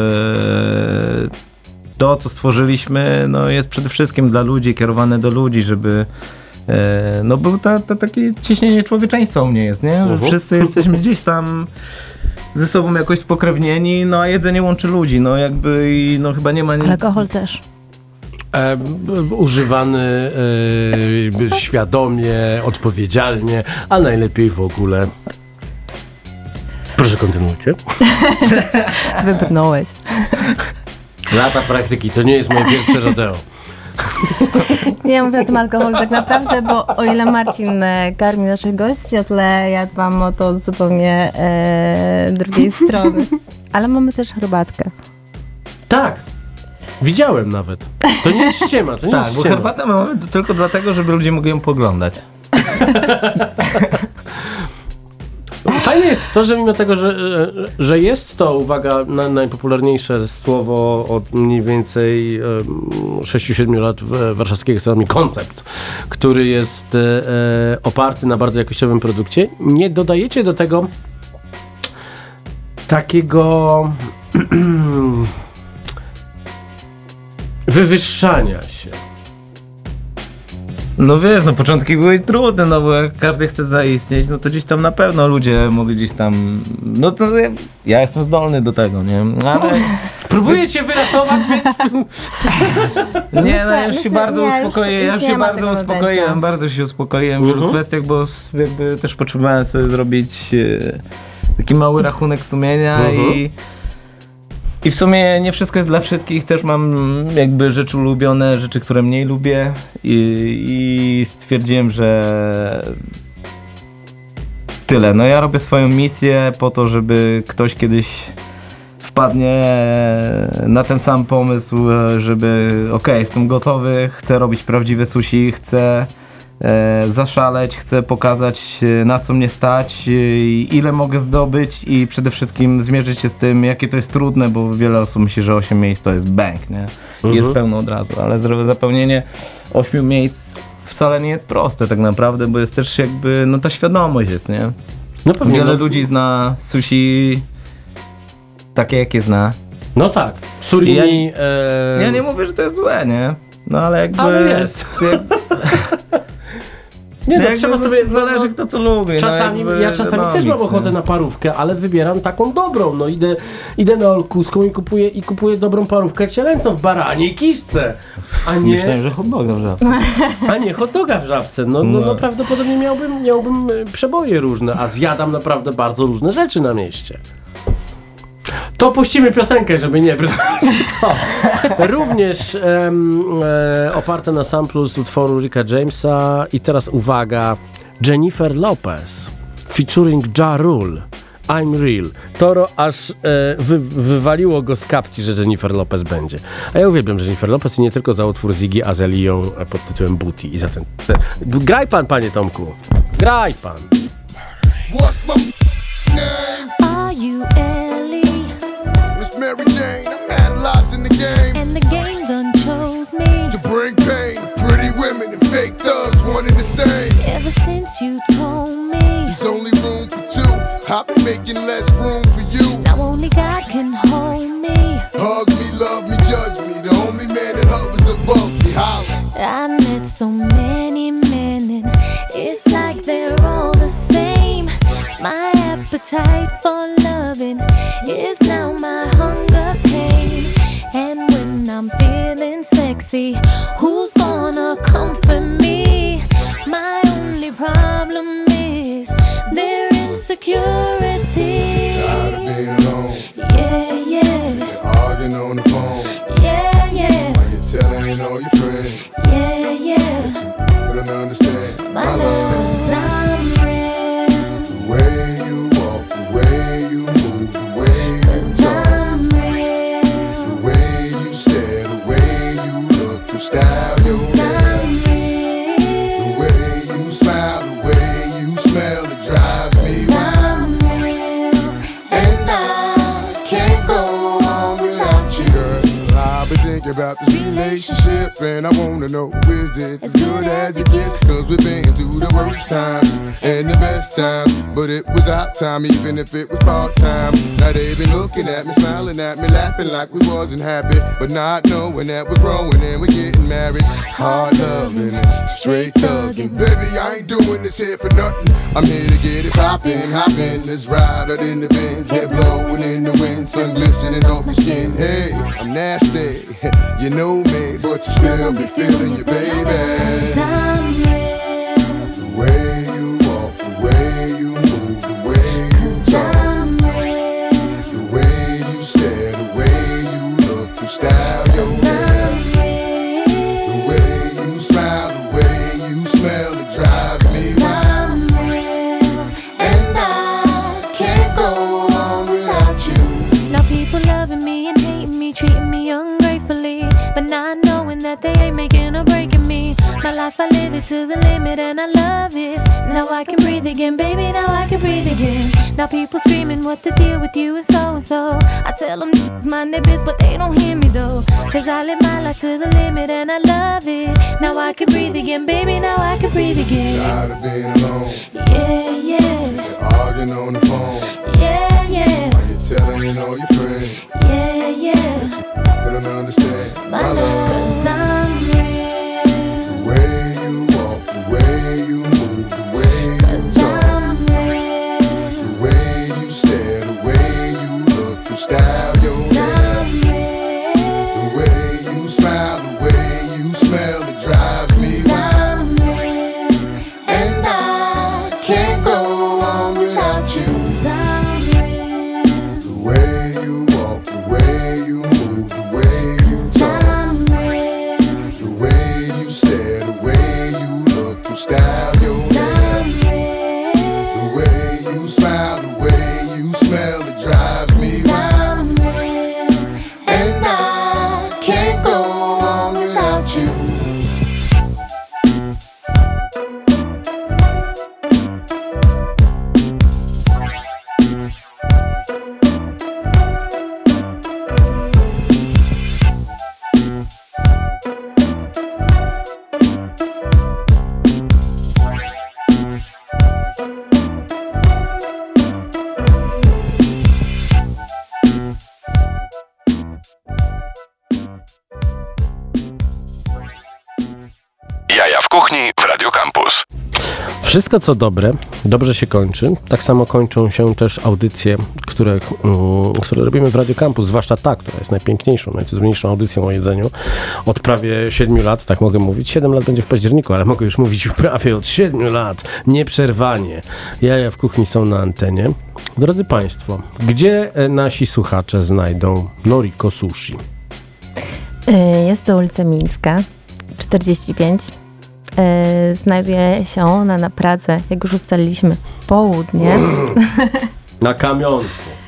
to, co stworzyliśmy, no, jest przede wszystkim dla ludzi, kierowane do ludzi, żeby E, no bo ta, ta, takie ciśnienie człowieczeństwa u mnie jest, nie? Że Mhm. wszyscy jesteśmy gdzieś tam ze sobą jakoś spokrewnieni, no a jedzenie łączy ludzi, no jakby i no chyba nie ma... Nie... Alkohol też. E, b, b, używany e, świadomie, odpowiedzialnie, a najlepiej w ogóle. Proszę, kontynuujcie. Wybrnąłeś. Lata praktyki, to nie jest moje pierwsze rodeo. Nie mówię o tym alkoholu tak naprawdę, bo o ile Marcin e, karmi naszych gości, o tyle ja dbam o to od zupełnie e, drugiej strony. Ale mamy też herbatkę. Tak, widziałem nawet. To nie jest ściema, to nie Tak, jest bo ściema. herbatę mamy to tylko dlatego, żeby ludzie mogli ją poglądać. Fajne jest to, że mimo tego, że, że jest to, uwaga, na, najpopularniejsze słowo od mniej więcej sześć siedem lat w warszawskiej gastronomii, koncept, który jest e, oparty na bardzo jakościowym produkcie, nie dodajecie do tego takiego wywyższania się. No wiesz, no początki były trudne, no bo jak każdy chce zaistnieć, no to gdzieś tam na pewno ludzie mogli gdzieś tam, no to ja, ja jestem zdolny do tego, nie? Ale próbuję cię wyratować, więc... Nie, no ja już się myślę- bardzo nie, już- uspokoję, już ja nie się ma bardzo tego uspokoiłem, napięcia. bardzo się uspokoiłem w wielu Mhm. kwestiach, bo s- jakby też potrzebowałem sobie zrobić e, taki mały rachunek sumienia Mhm. i i w sumie nie wszystko jest dla wszystkich, też mam jakby rzeczy ulubione, rzeczy, które mniej lubię i, i stwierdziłem, że tyle. No ja robię swoją misję po to, żeby ktoś kiedyś wpadnie na ten sam pomysł, żeby okej, jestem gotowy, chcę robić prawdziwe sushi, chcę e, zaszaleć, chcę pokazać e, na co mnie stać, e, ile mogę zdobyć i przede wszystkim zmierzyć się z tym, jakie to jest trudne, bo wiele osób myśli, że osiem miejsc to jest bank, nie? I Mhm. jest pełno od razu, ale zdrowe zapełnienie ośmiu miejsc wcale nie jest proste tak naprawdę, bo jest też jakby, no ta świadomość jest, nie? No pewnie, Wiele no, ludzi zna sushi takie, jakie zna. no tak, surimi... Ja- e, Ja nie mówię, że to jest złe, nie? No ale jakby... Ale jest. Jak, Nie, no, jakby trzeba sobie... Zależy kto co lubi. Czasami, no jakby, ja czasami no, też mam nic, ochotę nie? na parówkę, ale wybieram taką dobrą. No idę, idę na Olkuską i kupuję, i kupuję dobrą parówkę cielęcą w baraniej kiszce, a nie, Myślałem, że hot doga w żabce. a nie hot doga w żabce. No, no, No. no prawdopodobnie miałbym, miałbym e, przeboje różne, a zjadam naprawdę bardzo różne rzeczy na mieście. To puścimy piosenkę, żeby nie brnąć w to. Również em, e, oparte na samplu z utworu Ricka Jamesa i teraz uwaga, Jennifer Lopez featuring Ja Rule. I'm Real. Toro aż e, wy, wywaliło go z kapci, że Jennifer Lopez będzie. A ja uwielbiam Jennifer Lopez i nie tylko za utwór Ziggy Azalią pod tytułem Booty. I za ten, ten... Graj pan, panie Tomku. Graj pan. What's my name? Are you Ellie? Miss Mary Jane. I've had lots in the game. And the game done chose me To bring pain to pretty women and fake thugs, one and the same. ever since you told me. There's only room for two. I've been making less room for you. Now only God can hold me. Hug me, love me, judge me. The only man that hovers above me. Holla. I met so many men and it's like they're all the same. My appetite for loving is now my hunger pain. And when I'm feeling sexy, who's gonna comfort me? My only problem is their insecurity. Tired of being alone. Yeah, yeah. Sick of arguing on the phone. Yeah, yeah. Why you telling all your friends? Yeah, yeah. But I don't understand. My love is I'm real. The way you walk, the way you move, the way you talk, I'm real. the way you stare, the way you look, your style, your hair, I'm real. the way you smile, the way you smell, it drives me wild. I'm real. And I can't go on without you, girl. I've been thinking about this relationship, and I wanna know, is this as good as it gets? Cause we've been through the worst times and the best times, but it was our time, even if it was part-time. Now they been looking at me, smiling at me, laughing like we wasn't happy, but not knowing that we're growing and we're getting married. Hard loving and straight thugging. Baby, I ain't doing this here for nothing. I'm here to get it poppin', hoppin'. Let's ride out in the Benz, head blowing in the wind, sun glistening off my skin. Hey, I'm nasty, you know me, but you still be feeling you, baby. I'm real. The way you walk, the way you move, the way you talk, I'm real. the way you stare, the way you look, your style, your hair, I'm real. the way you smile, the way you smell, it drives me wild. I'm real. And I can't go on without you. Now people loving me and hating me, treating me ungratefully, but not knowing that they ain't making or breaking me. My life, I live it to the limit and I love it. Now I can breathe again, baby, now I can breathe again. Now people screaming what the deal with you is so and so. I tell them it's mind their biz, but they don't hear me though. Cause I live my life to the limit and I love it. Now I can breathe again, baby, now I can breathe again. Tired of being alone, Yeah, yeah, sick of arguing on the phone. yeah, yeah, Why you telling all your friends? yeah, yeah. But I don't understand. My love, cause I'm real. The way you walk, the way you move, the way you Cause talk, I'm real. the way you stare, the way you look, your style, your hair, I'm real. the way you smile, the way you smell, it drives me wild. I'm real. And I can't go on without you. Cause I'm real. The way you walk, the way you move, the way you talk, I'm real. the way you stare, the way you look, your style, your hair, I'm real. the way you smile, the way you smell, it drives me wild. I'm real. And I can't go on without you. Jaja w kuchni w Radio Campus. Wszystko co dobre, dobrze się kończy. Tak samo kończą się też audycje, które, mm, które robimy w Radio Campus, zwłaszcza ta, która jest najpiękniejszą, najcudowniejszą audycją o jedzeniu od prawie siedmiu lat, tak mogę mówić. Siedem lat będzie w październiku, ale mogę już mówić prawie od siedmiu lat, nieprzerwanie. Jaja w kuchni są na antenie. Drodzy Państwo, gdzie e, nasi słuchacze znajdą Noriko Sushi? Jest to ulica Mińska, czterdzieści pięć. e, znajduje się ona na Pradze, jak już ustaliliśmy, południe. Na kamionku.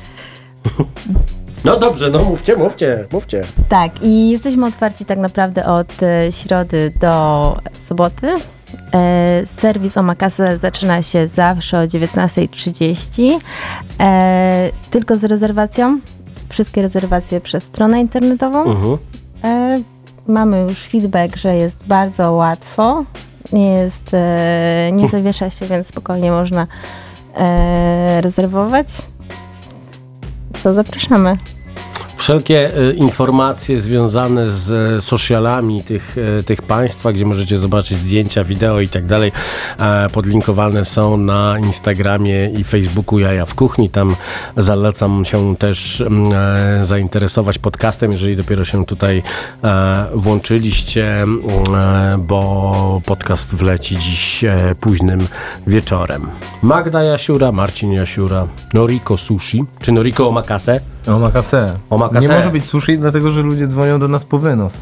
No dobrze, no mówcie, mówcie, mówcie. Tak, i jesteśmy otwarci tak naprawdę od e, środy do soboty. E, serwis Omakase zaczyna się zawsze o dziewiętnasta trzydzieści. E, tylko z rezerwacją. Wszystkie rezerwacje przez stronę internetową. Mhm. E, mamy już feedback, że jest bardzo łatwo. Nie jest, e, nie zawiesza się, więc spokojnie można e, rezerwować. To zapraszamy. Wszelkie y, informacje związane z y, socialami tych, y, tych państwa, gdzie możecie zobaczyć zdjęcia, wideo i tak dalej, e, podlinkowane są na Instagramie i Facebooku Jaja w Kuchni. Tam zalecam się też e, zainteresować podcastem, jeżeli dopiero się tutaj e, włączyliście, e, bo podcast wleci dziś e, późnym wieczorem. Magda Jasiura, Marcin Jasiura, Noriko Sushi, czy Noriko Omakase? Omakase. Omakase. Nie może być sushi, dlatego że ludzie dzwonią do nas po wynos.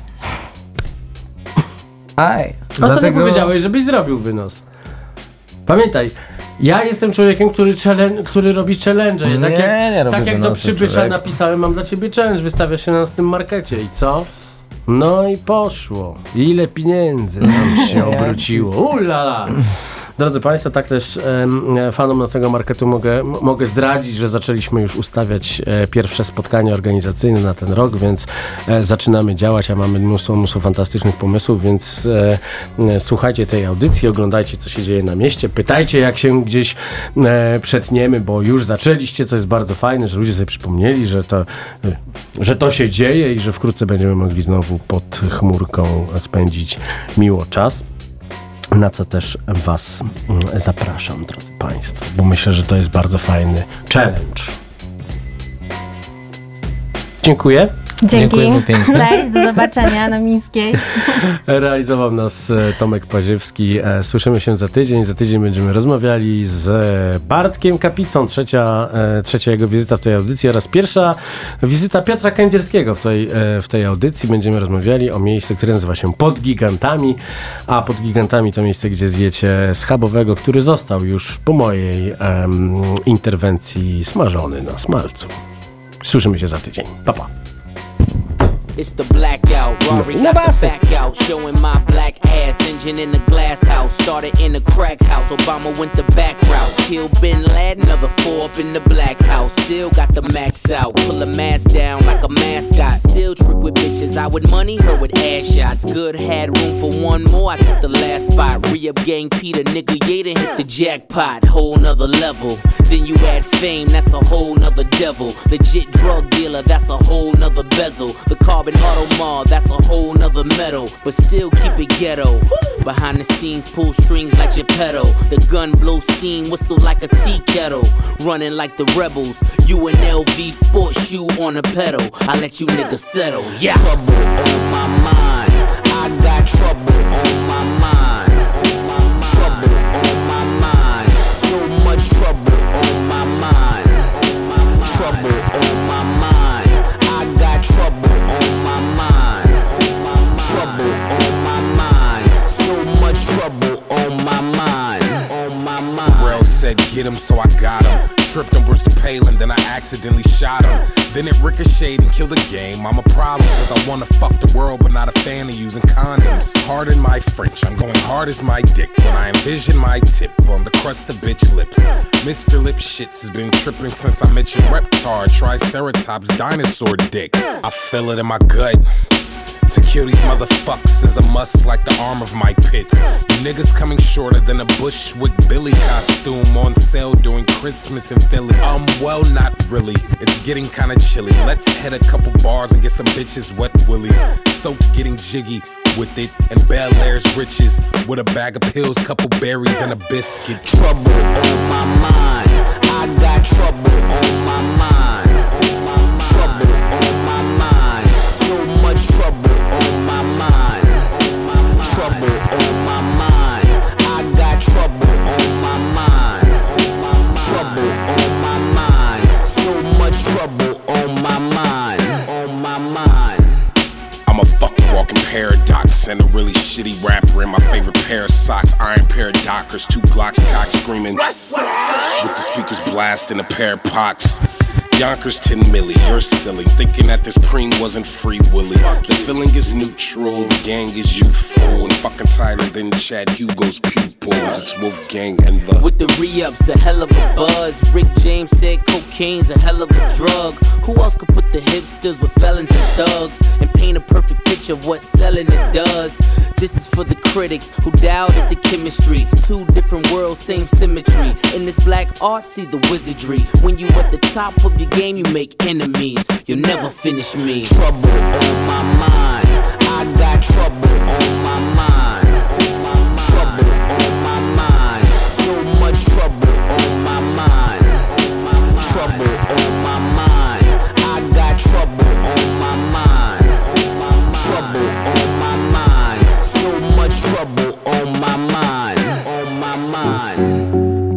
Aj. Ostatnio Dlatego... powiedziałeś, żebyś zrobił wynos. Pamiętaj, ja jestem człowiekiem, który, challenge, który robi challenge. Ja tak Nie, jak, nie robię tak jak do wynosu, przybysza człowiek. napisałem, mam dla ciebie challenge, wystawia się na tym markecie i co? No i poszło. Ile pieniędzy nam się obróciło. Ulala! Drodzy Państwo, tak też e, fanom naszego marketu mogę, m- mogę zdradzić, że zaczęliśmy już ustawiać e, pierwsze spotkania organizacyjne na ten rok, więc e, zaczynamy działać, a mamy mnóstwo, mnóstwo fantastycznych pomysłów, więc e, e, słuchajcie tej audycji, oglądajcie, co się dzieje na mieście, pytajcie, jak się gdzieś e, przetniemy, bo już zaczęliście, co jest bardzo fajne, że ludzie sobie przypomnieli, że to, e, że to się dzieje i że wkrótce będziemy mogli znowu pod chmurką spędzić miło czas. Na co też Was mm, zapraszam, drodzy Państwo, bo myślę, że to jest bardzo fajny challenge. Dziękuję. Dzięki. Dziękujemy pięknie. Cześć, do zobaczenia na Mińskiej. Realizował nas e, Tomek Paziewski. E, Słyszymy się za tydzień. Za tydzień będziemy rozmawiali z Bartkiem Kapicą. Trzecia, e, trzecia jego wizyta w tej audycji oraz pierwscha wizyta Piotra Kędzierskiego w tej, e, w tej audycji. Będziemy rozmawiali o miejscu, które nazywa się Pod Gigantami, a Pod Gigantami to miejsce, gdzie zjecie schabowego, który został już po mojej em, interwencji smażony na smalcu. Słyszymy się za tydzień. Pa, pa. It's the blackout, Rory got the back out, showing my black ass, engine in the glass house, started in the crack house, Obama went the back route, killed Bin Laden, another four up in the black house, still got the max out, pull a mask down like a mascot, still trick with bitches, I with money, her with ass shots, good had room for one more, I took the last spot, re-up gang Peter, nigga, yeah, done hit the jackpot, whole nother level, then you add fame, that's a whole nother devil, legit drug dealer, that's a whole nother bezel, the car Auto Mall, that's a whole nother metal, but still keep it ghetto. Behind the scenes, pull strings like Geppetto. The gun blow steam, whistle like a tea kettle. Running like the rebels, you an L V sports shoe on a pedal. I let you niggas settle, yeah. Trouble on my mind, I got trouble on my mind. Trouble on my mind, so much trouble on my mind. Trouble on my mind, I got trouble on my mind. Trouble on my mind, so much trouble on my mind. On my mind. Pharrell said get him, so I got him. Tripped on Brewster Palin, then I accidentally shot him. Then it ricocheted and killed the game. I'm a problem, cause I wanna fuck the world, but not a fan of using condoms. Pardon my French, I'm going hard as my dick when I envision my tip on the crust of bitch lips. Mister Lip Shits has been tripping since I mentioned Reptar, Triceratops, dinosaur dick. I feel it in my gut. To kill these motherfuckers is a must like the arm of my pits. You niggas coming shorter than a Bushwick Billy costume on sale during Christmas in Philly. Um, well, not really. It's getting kinda chilly. Let's hit a couple bars and get some bitches wet willies. Soaked getting jiggy with it and Bel Air's riches with a bag of pills, couple berries and a biscuit. Trouble on my mind, I got trouble on my mind. Trouble on my mind, so much trouble on my mind. Trouble on my mind, I got trouble on my mind. Trouble on my mind, so much trouble on my mind. On my mind. I'm a fucking walking paradox, and a really shitty rapper in my favorite pair of socks. Iron pair of Dockers, two Glocks cock screaming with the speakers blasting a pair of pots. Yonkers ten milli, you're silly, thinking that this preem wasn't free willy. The feeling is neutral, the gang is youthful, and fucking tighter than Chad Hugo's pupils. It's Wolfgang and the with the re-ups, a hell of a buzz. Rick James said cocaine's a hell of a drug. Who else could put the hipsters with felons and thugs and paint a perfect picture of what selling it does? This is for the critics who doubted the chemistry. Two different worlds, same symmetry. In this black art, see the wizardry. When you at the top of your game, you make enemies. You'll never finish me. Trouble on my mind. I got trouble on my mind. Trouble on my mind. So much trouble on my mind. Trouble on my mind. I got trouble on my mind. Trouble on my mind. So much trouble on my mind. On my mind.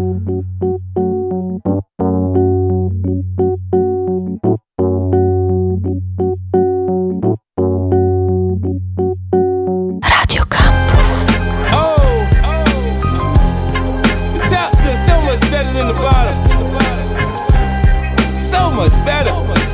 In the bottom, so much better.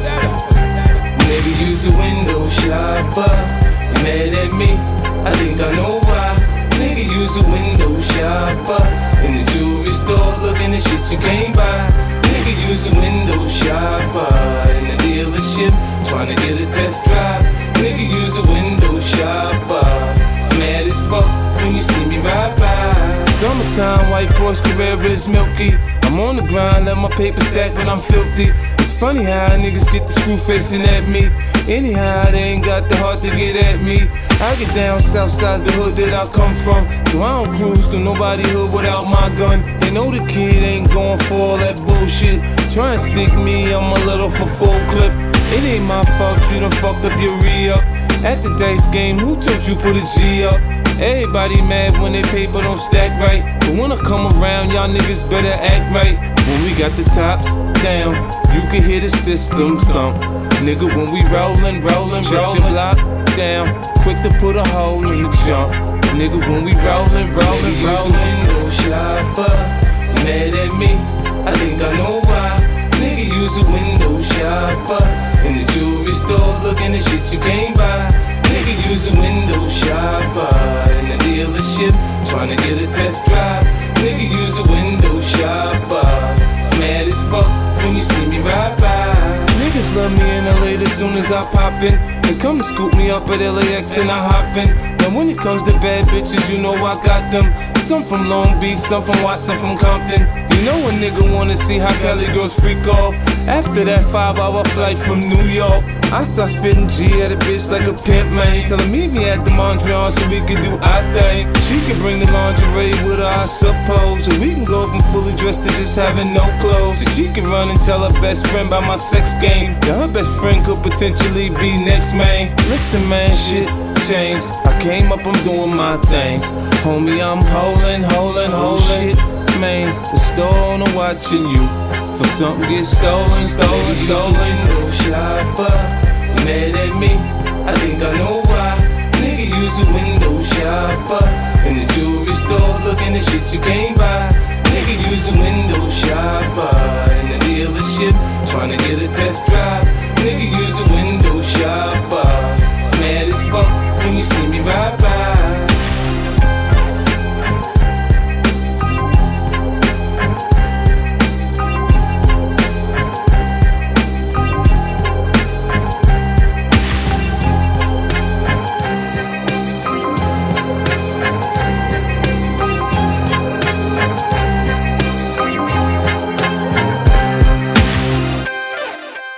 Nigga use a window shopper. You mad at me? I think I know why. Nigga use a window shopper. In the jewelry store, looking at shit you can't buy. Nigga use a window shopper. In the dealership, trying to get a test drive. Nigga use a window shopper. Mad as fuck when you see me ride by. Summertime, white Porsche Carrera is milky. I'm on the grind, let my paper stack when I'm filthy. It's funny how niggas get the screw facing at me. Anyhow, they ain't got the heart to get at me. I get down south side, the hood that I come from. So I don't cruise to nobody hood without my gun. They know the kid ain't going for all that bullshit. Try and stick me, I'm a little for full clip. It ain't my fault, you done fucked up your re-up. At the dice game, who told you put a G up? Everybody mad when their paper don't stack right. But when I come around, y'all niggas better act right. When we got the tops down, you can hear the system thump. Nigga, when we rollin', rollin', shut your block down. Quick to put a hole in the jump. Nigga, when we rollin', rollin', rollin'. Window shopper, mad at me? I think I know why. Nigga, use a window shopper. In the jewelry store, looking at shit you can't buy. Nigga use a window shopper. In the dealership, trying to get a test drive. Nigga use a window shopper. Mad as fuck when you see me ride by. Niggas love me in L A as soon as I pop in. They come to scoop me up at L A X and I hop in. Now when it comes to bad bitches, you know I got them. Some from Long Beach, some from Watson, from Compton. You know a nigga wanna see how Cali girls freak off. After that five hour flight from New York, I start spitting G at a bitch like a pimp, man. Tell her meet me at the Mondrian so we can do our thing. She can bring the lingerie with her, I suppose. So we can go from fully dressed to just having no clothes. So she can run and tell her best friend about my sex game. Yeah, her best friend could potentially be next, man. Listen, man, shit changed. I came up, I'm doing my thing. Homie, I'm holding, holding, holding. Shit, man, the store owner watching you. For something get stolen, stolen, stolen. No shopper, mad at me? I think I know why. Nigga use a window shopper. In the jewelry store, looking at shit you can't